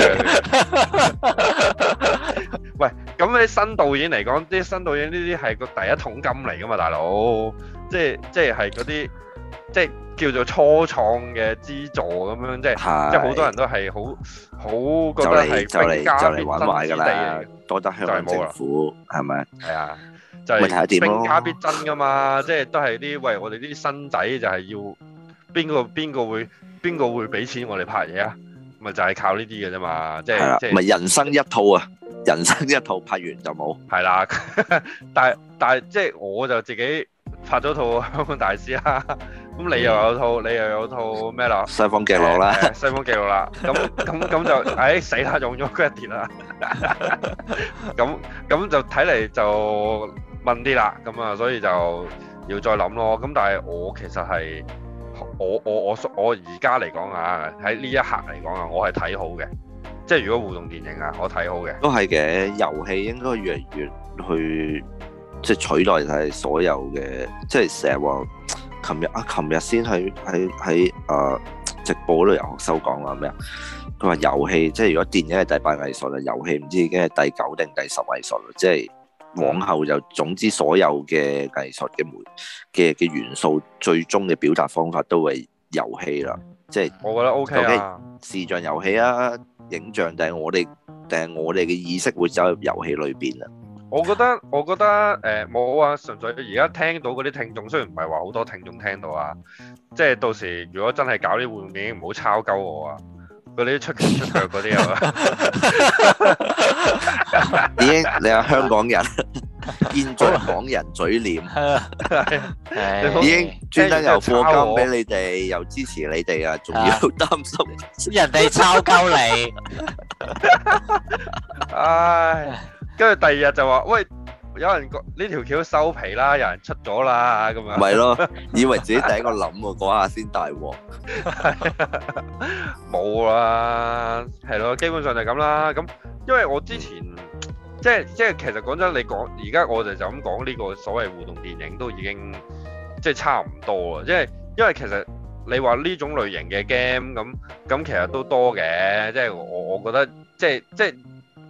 okay. 喂，咁你新導演嚟講，啲新導演呢啲係個第一桶金嚟噶嘛，大佬，即係即係係嗰啲即係叫做初創嘅資助咁樣，即係即係好多人都係好好覺得係兵家必爭之地， 多得香港政府係咪？ 係啊，就係兵家必爭噶嘛，即係都係啲喂我哋啲新仔就係要邊個邊個會邊個會俾錢我哋拍嘢啊？咪就係靠呢啲嘅啫嘛，即係即係咪人生一套啊！人生一套拍完就冇， 係啦。但係但係即係我就自己拍咗套香港大師啦。咁你又有套，嗯、你又有套咩啦？ 西方記錄啦， 西方記錄啦。咁咁咁就，唉死啦，用咗 credit 啦。咁咁就睇嚟就問啲啦。咁啊，所以就要再諗咯。咁但係我其實係。我我我我而家嚟講啊，喺呢一刻嚟講啊，我係睇好嘅。即係如果互動電影啊，我睇好嘅。 都係嘅，遊戲應該越嚟越去即係取代晒所有嘅，即係成日話，琴日啊，琴日先喺喺喺誒直播嗰度有學生講話咩啊？佢話遊戲即係如果電影係第八藝術啦，遊戲唔知已經係第九定第十藝術啦，即係。往後就總之所有嘅藝術嘅媒嘅嘅元素，最終嘅表達方法都係遊戲啦。即係我覺得 OK 啊， 視像遊戲啊，影像定係我哋定係我哋嘅意識會走入遊戲裏邊啊。 我覺得我覺得誒冇啊，純粹而家聽到嗰啲聽眾，雖然唔係話好多聽眾聽到啊，即係到時如果真係搞啲互動電影，唔好抄鳩我啊！嗰啲出拳出腳嗰啲啊， 已經你係香港人，現在港人嘴臉，已經專登又課金俾你哋，又支持你哋啊，仲要擔心人哋抄鳩你， 唉，跟住第二日就話喂。有人講呢條橋收皮啦，有人出咗啦，咁樣。 咪咯，以為自己第一個諗喎，嗰下先大鑊。 冇啦，係咯，基本上就係咁啦。咁因為我之前、嗯、即係即係其實講真，你講而家我哋就咁講呢個所謂互動電影都已經即係差唔多啦。即係因為其實你話呢種類型嘅 game 咁咁其實都多嘅，即係我我覺得即係即係。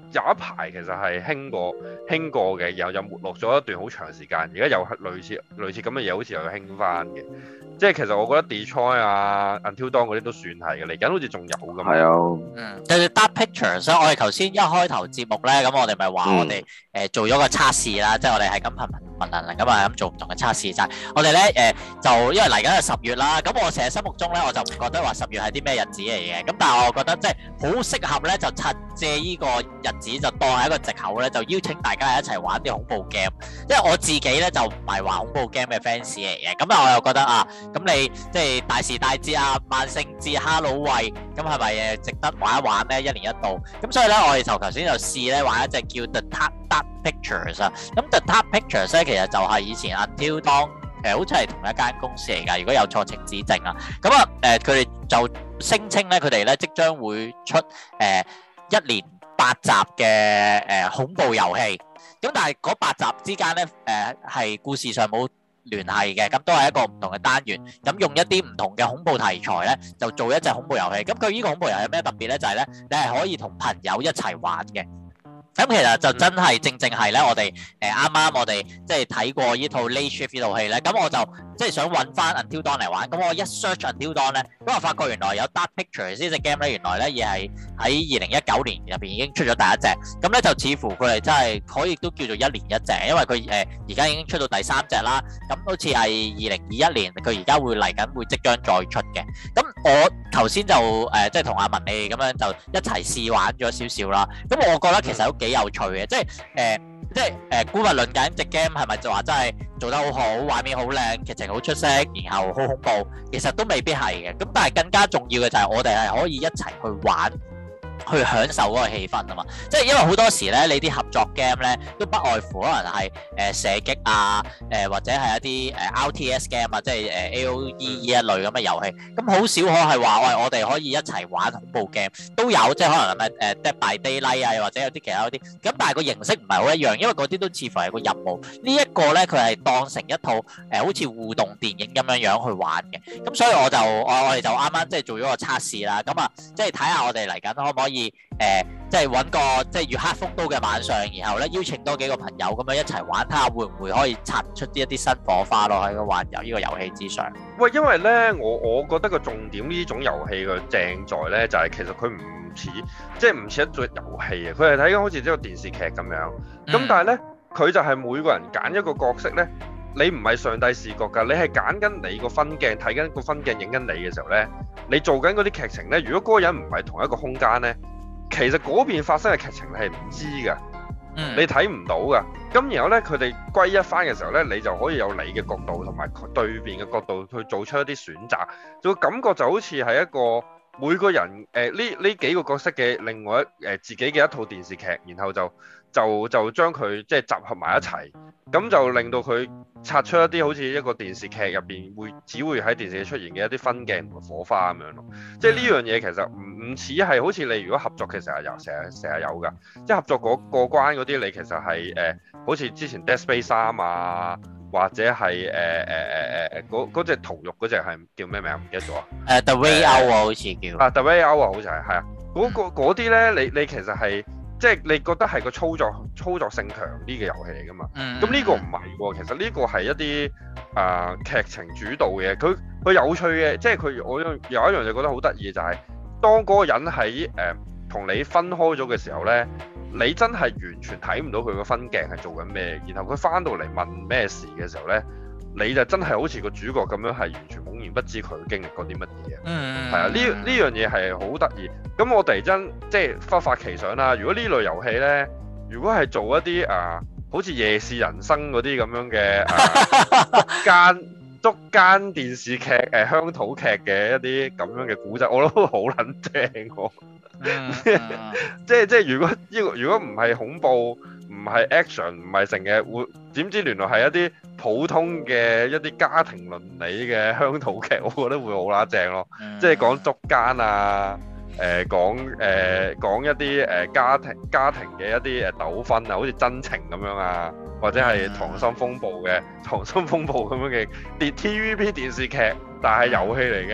有一排其實係興過興過嘅，然後又沒落咗一段好長時間，而家又係類似類似咁嘅嘢，好似又興翻嘅。即係其實我覺得 Detroit 啊、Until Dawn 嗰啲都算係嘅，嚟緊好似仲有㗎嘛。係啊， 嗯，對 Dark Pictures，我哋頭先一開頭節目咧，咁我哋咪話我哋誒做咗個測試啦，即係我哋係咁頻頻頻能能咁啊咁做唔同嘅測試，就係我哋咧誒就因為嚟緊係十月啦，咁我成日心目中咧我就唔覺得話十月係啲咩日子嚟嘅，咁但係我覺得即係好適合咧，就趁借呢個日子就當係一個藉口咧，就邀請大家一齊玩啲恐怖 game。因為我自己咧就唔係話恐怖 game 嘅 fans 嚟嘅，咁啊我又覺得啊，咁你即係大時大節啊、萬聖節、哈囉喂，咁係咪誒值得玩一玩咧？一年一度，咁所以咧我哋就頭先就試咧玩一隻叫 The Dark Dark Pictures 啊。咁 The Dark Pictures 咧其實就係以前 Until Dawn 誒好似係同一間公司嚟㗎，如果有錯請指正啊。咁啊誒佢哋就聲稱咧佢哋咧即將會出誒、呃、一連八集嘅誒、呃、恐怖遊戲。咁但係嗰八集之間咧，誒、呃、係故事上冇聯繫嘅，咁都係一個唔同嘅單元，咁用一啲唔同嘅恐怖題材咧，就做一隻恐怖遊戲。咁佢呢個恐怖遊戲有咩特別咧？就係、是、咧，你係可以同朋友一齊玩嘅。咁其實就真係正正係咧，我哋誒啱啱我哋即係睇過呢套 Late Shift 呢套戲咧，咁我就即係想揾翻 Until Dawn 嚟玩。咁我一 search Until Dawn 咧，咁我發覺原來有 Dark Pictures 呢隻 game 咧，原來咧亦係喺二零一九年入邊已經出咗第一隻。咁咧就似乎佢哋真係可以都叫做一年一隻，因為佢誒而家已經出到第三隻啦。咁好似係二零二一年，佢而家會嚟緊會即將再出嘅。咁我頭先就誒即係同阿文你哋咁樣就一齊試玩咗少少啦。咁我覺得其實都幾有趣嘅，即係誒、呃，即係誒，姑勿論緊隻 game 係咪就話真係做得好好，畫面好靚，劇情好出色，然後好恐怖，其實都未必係嘅。咁但係更加重要嘅就係我哋係可以一齊去玩。去享受嗰個氣氛啊嘛，即係因為好多時咧，你啲合作 game 咧都不外乎可能係誒、呃、射擊啊，誒、呃、或者係一啲誒、呃、R T S game 啊，即係誒、呃、A O E 呢一類咁嘅遊戲，咁好少可係話喂我哋可以一齊玩恐怖 game，都有即係可能係誒 Dead by Daylight 啊，又或者有啲其他嗰啲，咁但係個形式唔係好一樣，因為嗰啲都似乎係個任務，這個、呢一個咧佢係當成一套誒、呃、好似互動電影咁樣樣去玩嘅，咁所以我就我我哋就啱啱即係做咗個測試啦，咁啊即係睇下我哋嚟緊可唔可以。誒、呃，即係揾個即係月黑風高嘅晚上，然後咧邀請多幾個朋友咁樣一齊玩，睇下會唔會可以擦出啲一啲新火花咯喺個玩遊呢個遊戲之上。喂， 因為咧，我我覺得個重點呢種遊戲嘅正在咧，就係、是、其實佢唔似，即係唔似一種遊戲啊，佢係睇緊好似一個電視劇咁樣。咁、嗯、但係咧，佢就係每個人揀一個角色咧，你唔係上帝視角㗎，你係揀緊你個分鏡，睇緊個分鏡影緊你嘅時候咧，你做緊嗰啲劇情咧，如果嗰個人唔係同一個空間咧。其實嗰邊發生嘅劇情你係唔知㗎，嗯、你睇唔到㗎。咁然後咧，佢哋歸一翻嘅時候咧，你就可以有你嘅角度同埋對邊嘅角度去做出一啲選擇，就會感覺就好似係一個每個人誒呢呢幾個角色嘅另外一誒、呃、自己嘅一套電視劇，然後就就就將佢即係集合埋一齊，咁就令到佢擦出一啲好似一個電視劇入邊會只會喺電視劇出現嘅一啲分鏡同火花咁樣咯。即係呢樣嘢其實唔唔似係好似你如果合作嘅時候有成日成日有㗎，即係合作嗰過關嗰啲你其實係誒、呃、好似之前 Dead Space 三啊，或者係誒誒誒誒嗰嗰隻屠肉嗰隻係叫咩名唔記得咗啊？誒 The Way Out 好似叫啊 The Way Out 啊，好似係係啊，嗰啲咧你你其實係。即係你覺得係個操作操作性強啲嘅遊戲嚟㗎嘛？咁呢、嗯、個唔係喎，其實呢個係一啲啊、呃、劇情主導嘅，佢佢有趣嘅，即係佢我有一樣就覺得好得意就係、是，當嗰個人喺誒同你分開咗嘅時候咧，你真係完全睇唔到佢個分鏡係做緊咩，然後佢翻到嚟問咩事嘅時候咧，你就真係好似個主角咁樣係完全懵然不知佢經歷過啲乜嘢。嗯，係啊，呢呢樣嘢係好得意。咁我突然間即係忽發奇想啦，如果呢類遊戲咧，如果係做一啲啊、呃，好似夜視人生嗰啲咁樣嘅啊，間捉奸電視劇誒、呃、鄉土劇嘅一啲咁樣嘅古仔，我都好撚正喎。即係即係如果呢個如果唔係恐怖，唔係 action， 唔係成日會點知原來係一啲普通嘅一啲家庭倫理嘅鄉土劇，我覺得會好啦正咯。即係講捉奸啊，誒、呃、講誒、呃、講一啲誒家庭家庭嘅一啲誒糾紛啊，好似真情咁樣啊，或者係溏心風暴嘅溏心風暴咁樣嘅電 T V B 電視劇，但係遊戲嚟嘅。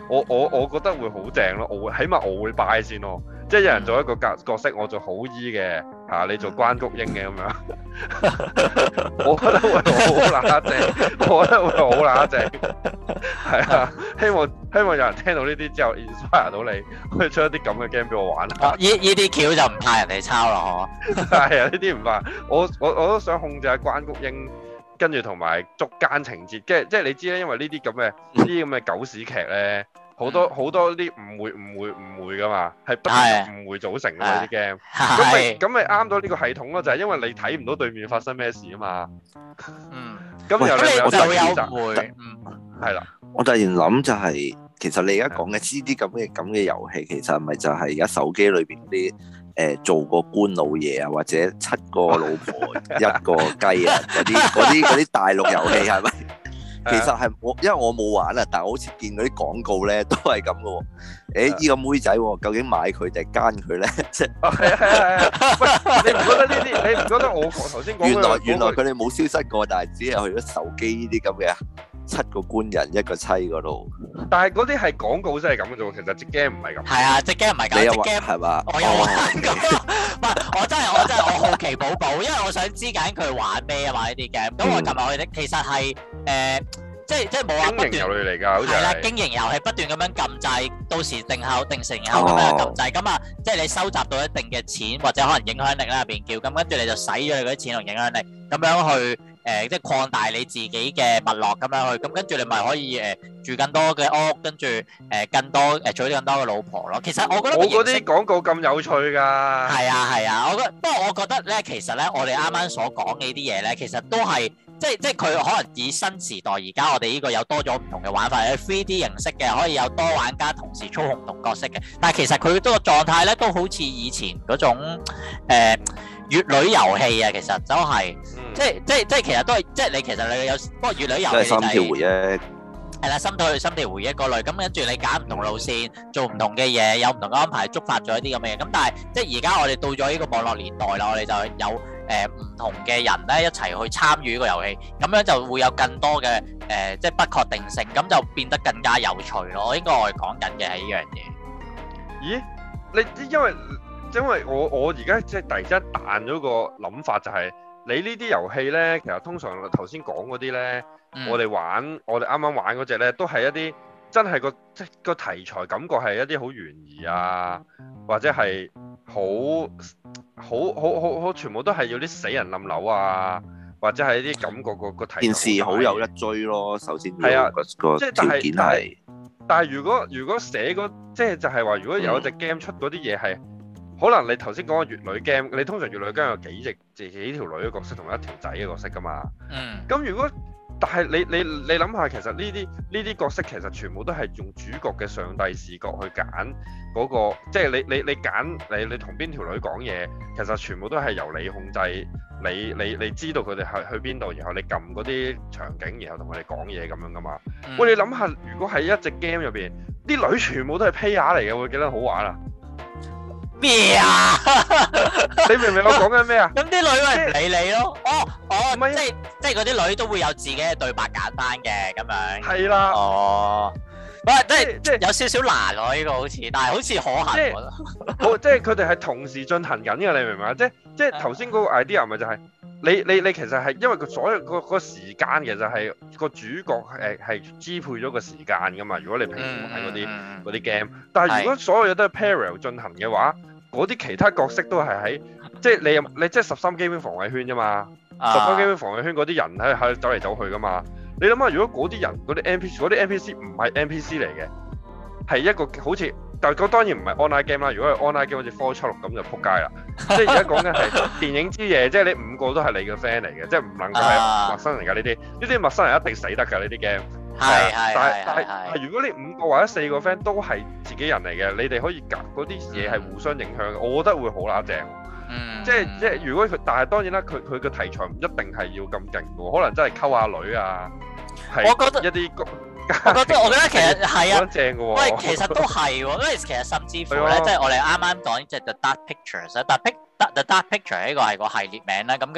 我我我覺得會好正咯，我會起碼我會 buy 先咯。即係有人做一個角角色，我做好醫嘅嚇，你做關菊英嘅咁樣，我覺得會好乸正，我覺得會好乸正，係啊！希望希望有人聽到呢啲之後 inspire 到你，可以出一啲咁嘅 game 俾我玩下。 呢呢啲橋就唔怕人哋抄咯，嗬。 係啊，呢啲唔怕，我我我都想控制下關菊英，跟住同埋捉奸情節，即係即係你知咧，因為呢啲咁嘅呢啲咁嘅狗屎劇咧。好多好多啲誤會誤會誤會噶嘛，係不斷誤會組成噶嘛啲 game，咁咪咁咪啱到呢個系統咯，就係因為你睇唔到對面發生咩事啊嘛。嗯，咁然後你就會有誤會。嗯，係啦。 我突然諗就係，其實你而家講嘅呢啲咁嘅咁嘅遊戲，其實係咪就係而家手機裏邊啲誒做個官老爺啊，或者七個老婆一個雞啊嗰啲嗰啲嗰啲大陸遊戲係咪？其實係我，因為我冇玩啊，但係我好似見嗰啲廣告咧，都係咁嘅喎。誒，呢個妹仔究竟買佢定奸佢咧？即係係係係。喂，你唔覺得呢啲？你唔覺得我頭先講？原來原來佢哋冇消失過，但係只係去咗手機呢啲咁嘅七個官人一個妻嗰度。但係嗰啲係廣告真係咁嘅啫喎，其實隻 game 唔係咁。係啊，隻 game 唔係咁。隻 game 係嘛？我有玩過。唔係，我真係我真係我好奇寶寶，因為我想知緊佢玩咩啊嘛呢啲 game。咁我琴日去睇，其實係誒。即係即係冇話不斷經營遊戲嚟㗎，好似係啦，經營遊戲不斷咁樣撳掣，到時定後定成後咁樣撳掣，咁啊，即係你收集到一定嘅錢或者可能影響力啦入邊叫，咁跟住你就使咗你嗰啲錢同影響力，咁樣去誒即係擴大你自己嘅脈絡咁樣去，咁跟住你咪可以誒住更多嘅屋，跟住誒更多誒娶更多嘅老婆咯。其實我覺得我嗰啲廣告咁有趣㗎。係啊係啊，我覺不過我覺得咧，其實咧我哋啱啱所講嘅呢啲嘢咧，其實都係。即係即係佢可能以新時代而家我哋呢個有多咗唔同嘅玩法，係 three D 形式嘅，可以有多玩家同時操控唔同角色嘅。但係其實佢嗰個狀態咧都好似以前嗰種誒乙女遊戲啊，其實都係、嗯、即係即係即係其實都係即係你其實你有不過乙女遊戲就係、是、心跳回憶係啦，心跳心跳回憶嗰類。咁跟住你揀唔同路線，做唔同嘅嘢，有唔同嘅安排，觸發咗一啲咁嘅嘢。咁但係即係而家我哋到咗呢個網絡年代啦，我哋就有。誒唔、呃、同嘅人咧一齊去參與呢個遊戲，咁樣就會有更多嘅誒、呃，即係不確定性，咁就變得更加有趣咯。應該我哋講緊嘅係呢樣嘢。咦？你因為因為我我而家即係突然之間彈咗個諗法、就係，就係你呢啲遊戲咧，其實通常頭先講嗰啲咧，嗯、我哋玩我哋啱啱玩嗰隻咧，都係一啲真係個即係個題材感覺係一啲好懸疑啊，或者係好。好好好好，全部都係要啲死人冧樓啊，或者係啲感覺個個題件事好有一追咯。首先係啊，個即係條件係。但係如果如果寫嗰即係就係話，如果有一隻 game 出嗰啲嘢係，可能你頭先講嘅乙女 game，你通常乙女 game 有幾隻幾幾條女嘅角色同一條仔嘅角色噶嘛？嗯。咁如果但係你你你諗下，其實呢啲呢啲角色其實全部都係用主角嘅上帝視角去揀嗰個，即係你你你揀你你同邊條女講嘢，其實全部都係由你控制，你你你知道佢哋去去邊度，然後你撳嗰啲場景，然後同佢哋講嘢咁樣噶嘛。嗯、喂，你諗下，如果喺一隻 game 入邊，啲女全部都係 player 嚟嘅，會幾得好玩啊？咩啊？你明唔明我講緊咩啊？咁啲女咪唔理你咯。哦哦，即係即係嗰啲女都會有自己嘅對白揀翻嘅咁樣。係啦。哦。喂，即係即係有少少難喎呢個好似，但係好似可行。即係好，即係佢哋係同時進行緊嘅，你明唔明啊？即係即係頭先嗰個 idea 咪就係你你你其實係因為佢所有個個時間其實係個主角誒係支配咗個時間噶嘛。如果你平時玩嗰啲嗰啲 game，但係如果所有嘢都係 parallel 進行嘅話，嗰啲其他角色都係喺，即係你你即係十三機兵防衛圈啫嘛，十三機兵防衛圈嗰啲人喺喺走嚟走去噶嘛，你諗下如果嗰啲人嗰啲 N P C 嗰啲 N P C 唔係 N P C 嚟嘅，係一個好似，但係嗰當然唔係 online game 啦，如果係 online game 好似科七六咁就撲街啦，即係而家講緊係電影之夜，即係你五個都係你嘅 friend 嚟嘅，即係唔能夠係陌生人㗎呢啲，呢啲陌生人一定死得㗎呢啲 game。係係係係係，如果你五個或者四個 friend 都係自己人嚟嘅，你哋可以夾嗰啲嘢係互相影響嘅，我覺得會好乸正。嗯，即係即係如果佢，但係當然啦，佢佢嘅題材唔一定係要咁勁嘅，可能真係溝下女啊。係，我覺得一啲，我覺得我覺得其實係啊，正嘅喎。喂，其實都係喎，因為其實甚至乎咧，即係我哋啱啱講即係 The Dark Pictures 咧，但係 The Dark Picture 呢個係個系列名啦，咁跟住佢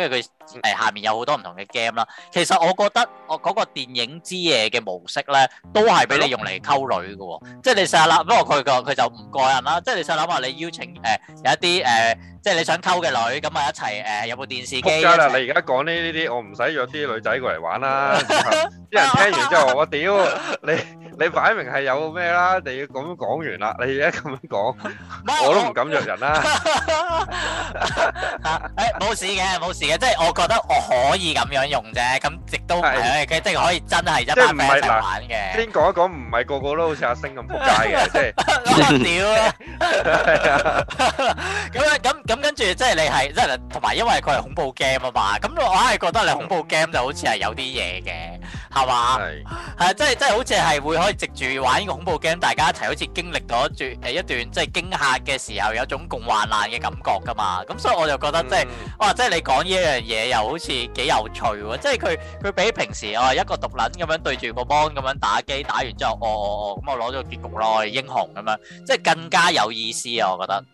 誒下面有好多唔同嘅 game 啦。其實我覺得我嗰個電影之夜嘅模式咧，都係俾你用嚟溝女嘅喎。即係你試下啦，不過佢個佢就唔過癮啦。即係你試下諗下，你邀請誒、呃、有一啲誒、呃，即係你想溝嘅女，咁啊一齊誒、呃、有部電視機。仆街啦！你而家講呢呢啲，我唔使約啲女仔過嚟玩啦。啲人聽完之後，我屌你！你擺明係有咩啦？你要咁樣講完啦，你而家咁樣講，我都唔敢約人啦。 誒冇事嘅，冇事嘅，即係我覺得我可以咁樣用啫。咁亦都係即係可以真係一班 friend 一齊玩嘅。先講一講，唔係個個都好似阿星咁仆街嘅，即係屌啊！係啊，咁樣咁咁跟住，即係你係即係同埋，因為佢係恐怖 game 啊嘛。咁我硬係覺得你恐怖 game 就好似係有啲嘢嘅，係嘛？係係即係即係好似係會可以藉住玩呢個恐怖 game，大家一齊好似經歷咗一段誒一段即係驚嚇嘅時候，有種共患難嘅感覺噶嘛。咁所以我就覺得即係哇，即係你講呢一樣嘢又好似幾有趣喎。即係佢佢比平時哦一個毒撚咁樣對住個 mon 咁樣打機，打完之後哦哦哦咁我攞咗個結局咯，英雄咁樣，即係更加有意思啊！我覺得。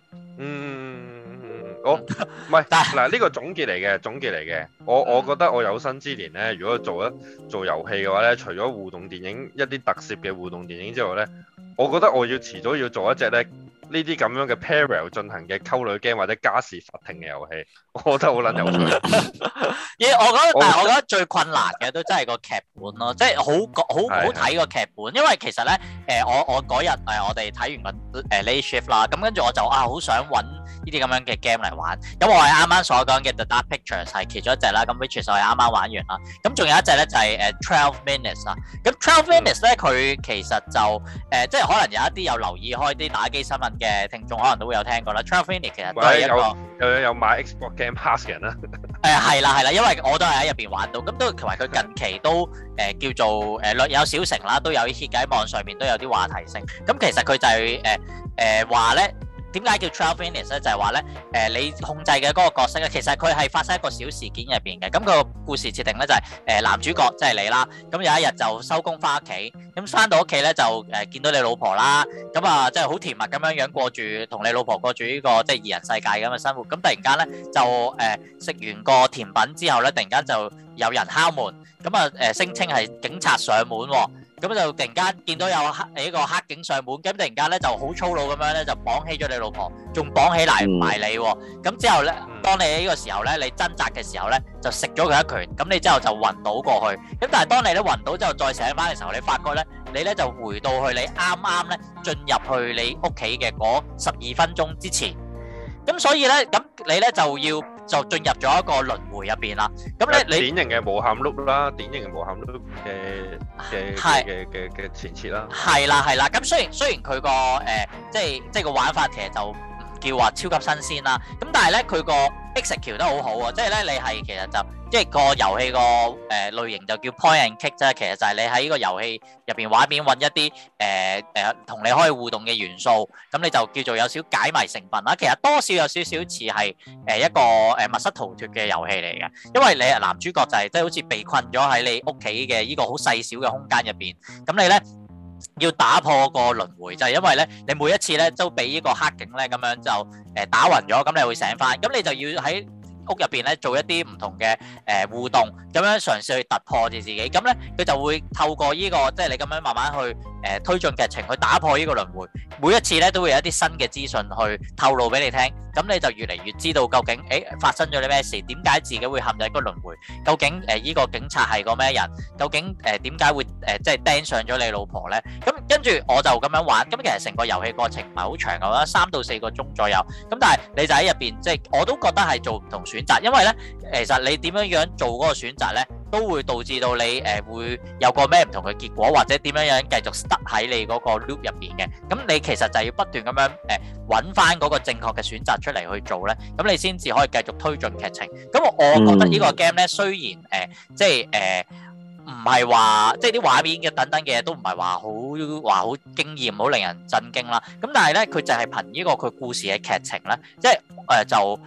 嗯，好，唔係嗱呢個總結嚟嘅，總結嚟嘅。我我覺得我有生之年咧，如果做一做遊戲嘅話咧，除咗互動電影一啲特攝嘅互動電影之外咧，我覺得我要遲早要做一隻咧呢啲咁樣嘅 parallel 進行嘅溝女 game 或者家事法庭嘅遊戲，我覺得好撚有趣。 嘢我覺得，但係我覺得最困難嘅都真係個劇本咯，即係好好好睇個劇本，因為其實咧誒我我嗰日誒我哋睇完個誒 late shift 啦，咁跟住我就啊好想揾呢啲咁樣嘅 game 嚟玩，咁我係啱啱所講嘅 The Dark Pictures 係其中一隻啦，咁 which 我係啱啱玩完啦，咁仲有一隻咧就係誒twelve minutes 啦，咁twelve minutes 咧佢其實就誒即係可能有一啲有留意開啲打機新聞嘅聽眾可能都會有聽過啦。twelve minutes 其實都係一個有有買 Xbox Game Pass 嘅人啦。 誒係啦係啦，因為我都係喺入邊玩到，咁都同埋佢近期都誒、呃、叫做誒略、呃、有小成啦，都有啲 hit 喺網上面都有啲話題性。咁其實佢就係誒誒話咧。點解叫twelve minutes 咧？就係話咧，誒、呃、你控制嘅嗰個角色咧，其實佢係發生一個小事件入邊嘅。咁、個故事設定咧就係、是、誒、呃、男主角即係你啦。咁有一日就收工翻屋企，咁翻到屋企咧就誒、呃、見到你老婆啦。咁啊，即係好甜蜜咁樣樣過住同你老婆過住呢、個即係二人世界咁嘅生活。咁突然間咧就誒食、呃、完個甜品之後咧，突然間就有人敲門。咁啊誒聲稱係警察上門喎。咁就突然間見到有黑呢個黑警上門，咁突然間咧就好粗魯咁樣咧就綁起咗你老婆，仲綁起嚟埋你喎。咁之後咧，當你喺呢個時候咧，你掙扎嘅時候咧，就食咗佢一拳，咁你之後就暈倒過去。咁但係當你咧暈倒之後再醒翻嘅時候，你發覺咧，你咧就回到去你啱啱咧進入去你屋企嘅嗰十二分鐘之前。咁所以咧，咁你咧就要就進入咗一個輪迴入邊啦。咁咧你典型嘅無限 loop 啦，典型嘅無限 loop 嘅嘅嘅嘅嘅前設啦。 係啦係啦，咁雖然雖然佢個誒即係即係個玩法其實就唔叫話超級新鮮啦。咁但係咧佢個 execute 得好好喎，即係咧你係其實就即係個遊戲個誒類型就叫 point and click 啫。其實就係你喺呢個遊戲入邊畫面揾一啲誒誒同你可以互動嘅元素，咁你就叫做有少解謎成分啦。其實多少有少少似係誒一個誒密室逃脫嘅遊戲嚟嘅，因為你係男主角就係即係好似被困咗喺你屋企嘅呢個好細小嘅空間入邊，咁你咧要打破個輪迴，就係因為咧你每一次咧都俾呢個黑警咧咁樣就誒打暈咗，咁你會醒翻，咁你就要喺屋入邊咧做一啲唔同嘅誒互動，咁樣嘗試去突破住自己，咁咧佢就會透過呢個即係你咁樣慢慢去誒推進劇情去打破呢個輪迴，每一次咧都會有一啲新嘅資訊去透露俾你聽，咁你就越嚟越知道究竟誒發生咗啲咩事，點解自己會陷入一個輪迴，究竟誒呢個警察係個咩人，究竟誒點解會誒即係釘上咗你老婆咧？咁跟住我就咁樣玩，咁其實成個遊戲過程唔係好長嘅，三到四個鐘左右，咁但係你就喺入邊即係我都覺得係做唔同選擇，因為咧其實你點樣樣做嗰個選擇咧，都會導致到你誒、呃、會有個咩唔同嘅結果，或者點樣樣繼續 stuck 喺你嗰個 loop 入邊嘅。咁你其實就要不斷咁樣誒揾翻嗰個正確嘅選擇出嚟去做咧，咁你先至可以繼續推進劇情。咁我覺得呢個 game 咧，雖然誒、呃、即係誒唔係話即係啲畫面嘅等等嘅嘢都唔係話好話好驚豔、好令人震驚啦。咁但係咧，佢就係憑呢個佢故事嘅劇情咧，即係誒、呃、就。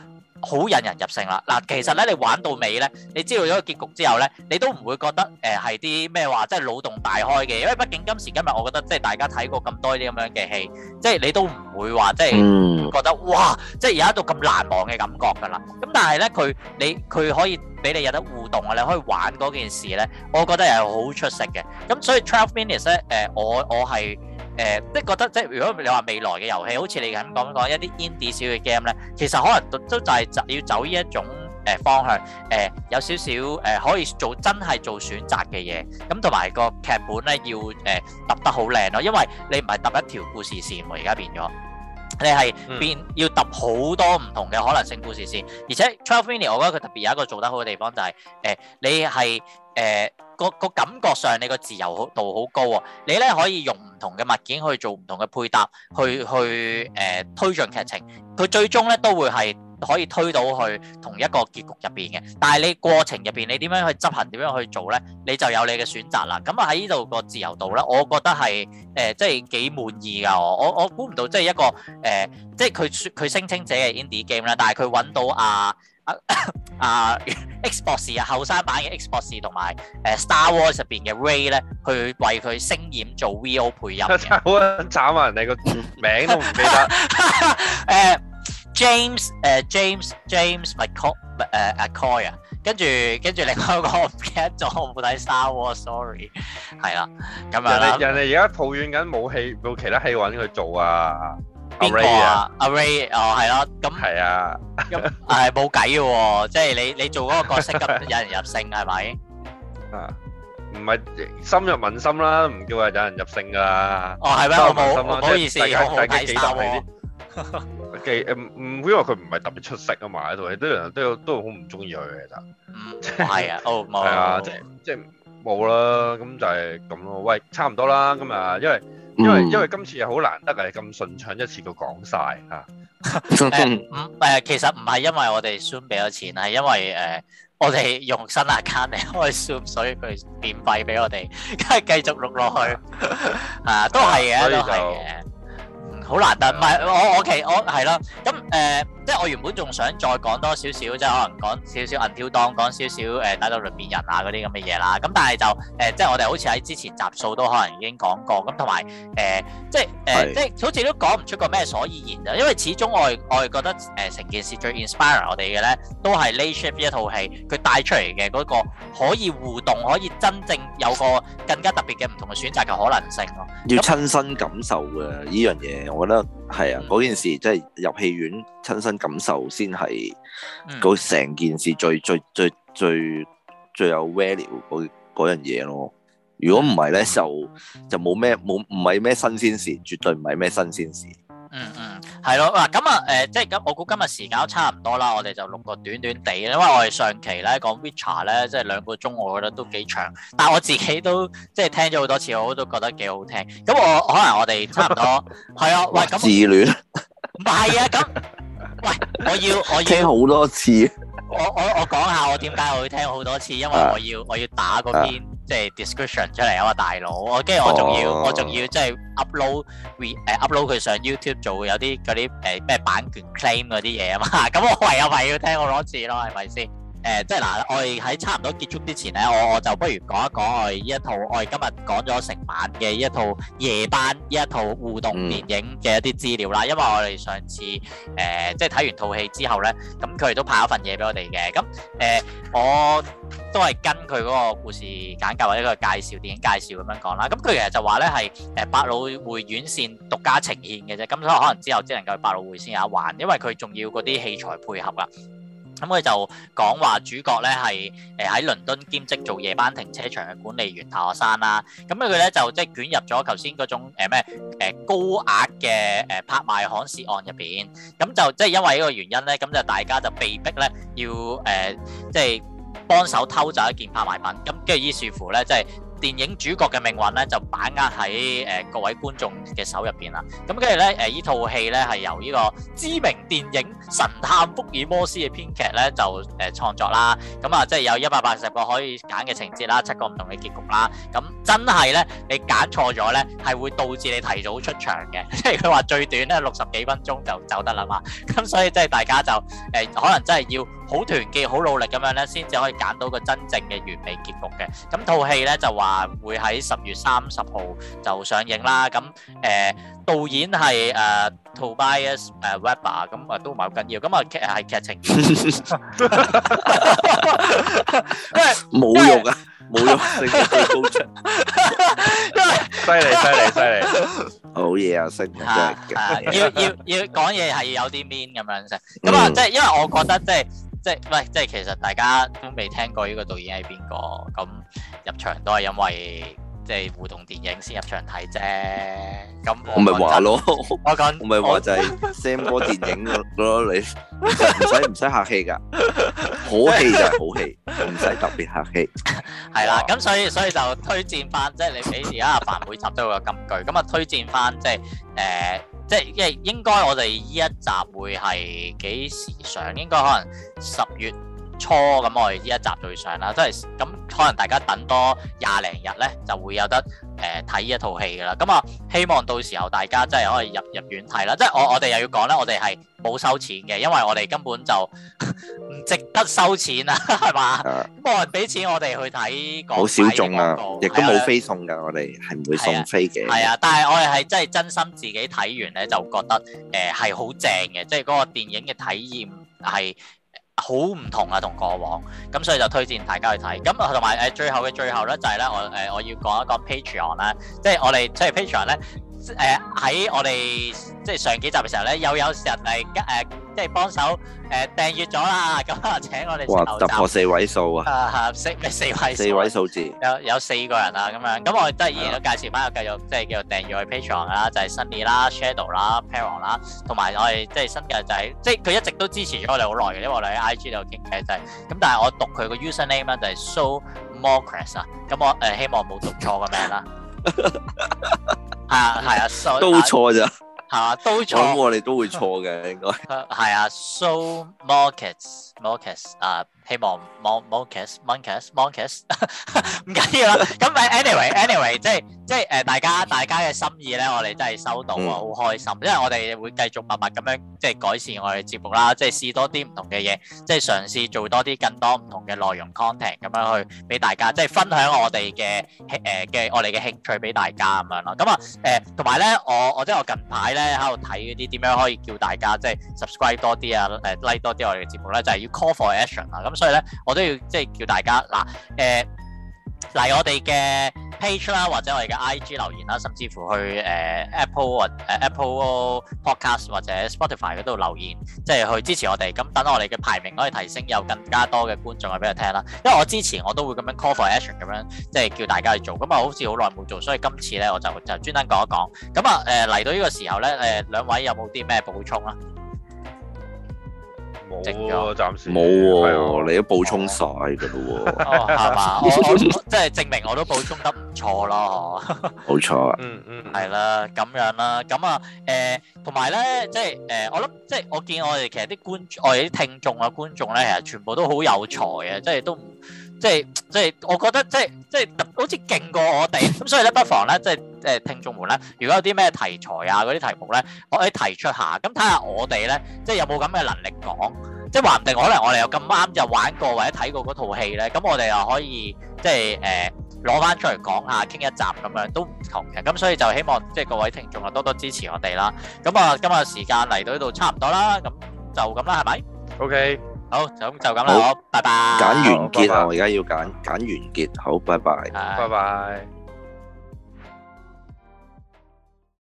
好引人入勝啦！嗱，其實咧你玩到尾咧，你知道咗個結局之後咧，你都唔會覺得誒係啲咩話，即係腦洞大開嘅，因為畢竟今時今日我覺得即係大家睇過咁多啲咁樣嘅戲，即係你都唔會話即係覺得哇，即係有一度咁難忘嘅感覺㗎啦。咁但係咧佢你佢可以俾你有得互動啊，你可以玩嗰件事咧，我覺得係好出色嘅。咁所以twelve minutes 咧，誒我我係。誒、呃，即係覺得，即係如果你話未來嘅遊戲，好似你咁講講一啲 indie 小嘅 game 咧，其實可能都都就係要走呢一種誒、呃、方向，誒、呃、有少少誒、呃、可以做真係做選擇嘅嘢，咁同埋個劇本咧要誒揼得好靚咯，因為你唔係揼一條故事線喎，而家變咗，你係變要揼好多唔同嘅可能性故事線，而且twelve minutes 我覺得佢特別有一個做得好嘅地方就係、是、誒、呃、你係誒。呃個個感覺上你個自由度好高喎，你咧可以用唔同嘅物件去做唔同嘅配搭，去去誒、呃、推進劇情，佢最終咧都會係可以推到去同一個結局入邊嘅。但係你過程入邊你點樣去執行，點樣去做咧，你就有你嘅選擇啦。咁啊喺呢度個自由度咧，我覺得係誒、呃、即係幾滿意㗎。我我我估唔到即係一個誒、呃，即係佢佢聲稱自己係 indie game 啦，但係佢揾到啊。啊啊 X 博士啊，後生版嘅 X 博士同埋誒 Star Wars 入邊嘅 Ray 咧，去為佢聲演做 V O 配音嘅。 好慘啊！人哋個名都唔記得。 誒 James 誒 James James McCoy 誒 McCoy 啊，跟住跟住另外一個我唔記得咗，我冇睇 Star Wars，sorry。係啦，咁樣啦。人哋人哋而家抱怨緊冇戲冇其他戲揾佢做啊。 邊個啊？阿 Ray 哦，係咯，咁係啊， 咁係冇計嘅喎，即係你你做嗰個角色咁引人入勝係咪？啊， 唔係深入民心啦，唔叫話引人入勝噶啦。 哦，係咩？我冇，唔好意思，我好睇 Star Wars。 嘅誒唔，因為佢唔係特別出色啊嘛，喺度，啲人都都好唔中意佢嘅其實。 嗯，係啊，哦冇。 係啊，即即冇啦，咁就係咁咯。喂，差唔多啦，今日因為。因為因為今次又好難得係咁順暢一次過講晒嚇。 誒唔誒，其實唔係因為我哋 Zoom 俾咗錢，係因為誒、呃、我哋用新 account 嚟開 Zoom，所以佢免費俾我哋，梗係繼續錄落去。啊，都係嘅，都係嘅。好難得，唔係我我其我係咯，咁誒、呃，即係我原本仲想再講多少少，即係可能講少少 Until Dawn，講少少誒打到輪變人啊嗰啲咁嘅嘢啦，咁但係就誒、呃，即係我哋好似喺之前集數都可能已經講過，咁同埋誒，即係誒，呃、是即係好似都講唔出個咩所以然啊，因為始終我係我係覺得誒成、呃、件事最 inspire 我哋嘅咧，都係 Late Shift 一套戲佢帶出嚟嘅嗰個可以互動，可以真正有個更加特別嘅唔同嘅選擇嘅可能性咯， 要親身感受嘅呢樣嘢。我覺得係啊，嗰、嗯、件事即係入戲院親身感受先係嗰成件事最最最最最有 value 嗰嗰樣嘢咯。如果唔係咧，就就冇咩冇唔係咩新鮮事，絕對唔係咩新鮮事。 嗯嗯，係咯嗱，咁啊誒，即係咁，我估今日時間都差唔多啦，我哋就錄個短短地，因為我哋上期咧講 Witcher 咧，即係兩個鐘，我覺得都幾長，但係我自己都即係聽咗好多次，我都覺得幾好聽。咁我可能我哋差唔多係啊，喂，咁自戀唔係啊，咁喂，我要我要聽好多次。 我我我講下我點解我會聽好多次，因為我要我要打嗰篇即係 description 出嚟啊嘛，大佬，我跟住我仲要、oh. 我仲要即係 upload re 誒 upload 佢上 YouTube 做有啲嗰啲誒咩版權 claim 嗰啲嘢啊嘛，咁我唯有咪要聽好多次咯，係咪先？誒、呃，即係嗱，我哋喺差唔多結束之前咧，我我就不如講一講我哋呢一套，我哋今日講咗成晚嘅呢一套夜班呢一套互動電影嘅一啲資料啦。因為我哋上次誒、呃、即係睇完套戲之後咧，咁佢哋都派咗份嘢俾我哋嘅。咁誒、呃，我都係跟佢嗰個故事簡介或者個介紹電影介紹咁樣講啦。咁佢其實就話咧係誒百老匯院線獨家呈現嘅啫。咁所以可能之後只能夠去百老匯先有得玩，因為佢仲要嗰啲器材配合啦。咁佢就講話主角咧係誒喺倫敦兼職做夜班停車場嘅管理員大學生啦。咁佢咧就即係捲入咗頭先嗰種誒咩誒高額嘅誒拍賣行竊案入邊。咁就即係因為呢個原因咧，咁就大家就被逼咧要誒即係幫手偷走一件拍賣品。咁跟住於是乎咧，即係電影主角嘅命運咧就把握喺誒、呃、各位觀眾嘅手入邊啦。咁跟住咧誒依套戲咧係由呢個知名電影神探福爾摩斯嘅編劇咧就誒、呃、創作啦。咁啊即係有一百八十個可以揀嘅情節啦，七個唔同嘅結局啦。咁真係咧你揀錯咗咧係會導致你提早出場嘅，即係佢話最短咧六十幾分鐘就走得啦嘛。咁所以即係大家就誒、呃、可能真係要好團結、好努力咁樣咧，先至可以揀到個真正嘅完美結局嘅。咁套戲咧就話會喺十月三十號就上映啦。咁誒、呃、導演係誒、呃、Tobias 誒、呃、Webber， 咁啊都唔係好緊要。咁啊劇係劇情， 冇用啊，冇用，升得最高出， 犀利犀利犀利， 好嘢啊，升真係要要要講嘢係要有啲 mean 咁樣先。咁啊，即係因為我覺得即係。即係喂，即係其實大家都未聽過呢個導演係邊個，咁入場都係因為即係互動電影先入場睇啫。咁我咪話咯， 我講我咪話就係 Sam 哥電影咯，你唔使唔使客氣㗎，好戲就係好戲，唔使特別客氣。 係啦，咁所以所以就推薦翻，即係你俾而家阿凡每集都有個金句，咁啊推薦翻即係誒。呃即係因為應該我哋呢一集會係幾時上？應該可能十月初咁，我哋呢一集就會上啦。即係咁，可能大家等多廿零日咧，就會有得誒睇呢一套戲噶啦。咁啊，希望到時候大家真係可以入入院睇啦。即係我我哋又要講咧，我哋係冇收錢嘅，因為我哋根本就唔值得收錢啊，係嘛？咁冇人俾錢我哋去睇， 好小眾啊，亦都冇飛送㗎，我哋係唔會送飛嘅。 係啊，但係我哋係真係真心自己睇完咧，就覺得誒係好正嘅，即係嗰個電影嘅體驗係好唔同啊，同過往。咁所以就推薦大家去睇。咁同埋誒最後嘅最後咧，就係咧我誒我要講一講 Patreon 啦，即係我哋即係 Patreon 咧。誒喺、呃、我哋即係上幾集嘅時候咧，又有人嚟誒即係幫手誒、呃、訂閱咗啦，咁啊請我哋哇突破四位數啊！ 啊四咩四位數？ 四位數字有有四個人啊咁樣，咁我哋都係依然都介紹翻，繼續即係繼續訂閱我哋 Patreon 啦，就係 Sunny 啦、Shadow 啦、Peron 啦，同埋我哋即係新嘅就係、是、即係佢一直都支持咗我哋好耐嘅，因為我哋喺 I G 度傾偈就係、是、咁，但係我讀佢個 username 咧就係 So Mocris 啊，咁我誒、呃、希望冇讀錯個名啦。係啊係啊， so, 都錯咋？ 係嘛，都錯。 咁我哋都會錯嘅，應該。 係啊 ，So Markets Markets 啊，希望 Mon Markets Markets Markets 唔緊要啦。咁誒，anyway anyway，即係即係誒，大家大家嘅心意咧，我哋真係收到啊，好開心。因為我哋會繼續默默咁樣即係改善我哋節目啦，即係試多啲唔同嘅嘢，即係嘗試做多啲更多唔同嘅內容 content 咁樣去俾大家，即係分享我哋嘅誒嘅我哋嘅興趣俾大家咁樣咯。咁啊誒，同埋咧，我我即係我近排咧喺度睇嗰啲點樣可以叫大家即係 subscribe 多啲啊，誒 like 多啲我哋嘅節目咧，就係要 call for action 啊。咁所以咧，我都要即係叫大家嗱誒嚟我哋嘅 page 啦，或者我哋嘅 I G 留言啦，甚至乎去誒、呃、Apple 或誒 Apple Podcast 或者 Spotify 嗰度留言，即係去支持我哋。咁等我哋嘅排名可以提升，有更加多嘅觀眾去俾佢聽啦。因為我之前我都會咁樣 call for action 咁樣，即係叫大家去做。咁啊，好似好耐冇做，所以今次咧我就就專登講一講。咁啊誒嚟到呢個時候咧，誒、呃、兩位有冇啲咩補充啊？ 冇喎，暫時冇喎，你都補充晒㗎咯喎。 哦，係嘛？我我即係證明我都補充得唔錯咯， 冇錯啊。 嗯嗯， 係啦，咁樣啦，咁啊誒，同埋咧，即係誒，我諗即係我見我哋其實啲觀眾，我哋啲聽眾啊觀眾咧，其實全部都好有才嘅，即係都唔即係即係，我覺得即係即係好似勁過我哋，咁所以咧，不妨咧，即係誒聽眾們咧，如果有啲咩題材啊嗰啲題目咧，我可以提出下，咁睇下我哋咧，即係有冇咁嘅能力講。即係話唔定，可能我哋又咁啱就玩過或者睇過嗰套戲咧，咁我哋又可以即係誒攞翻出嚟講下，傾一集咁樣都唔同嘅。咁所以就希望即係各位聽眾啊多多支持我哋啦。咁啊，今日時間嚟到呢度差唔多啦，咁就咁啦，係咪 ？OK， 好，就咁就咁啦，好，拜拜。 揀完結啊！我而家要揀揀完結，好，拜拜， 拜拜。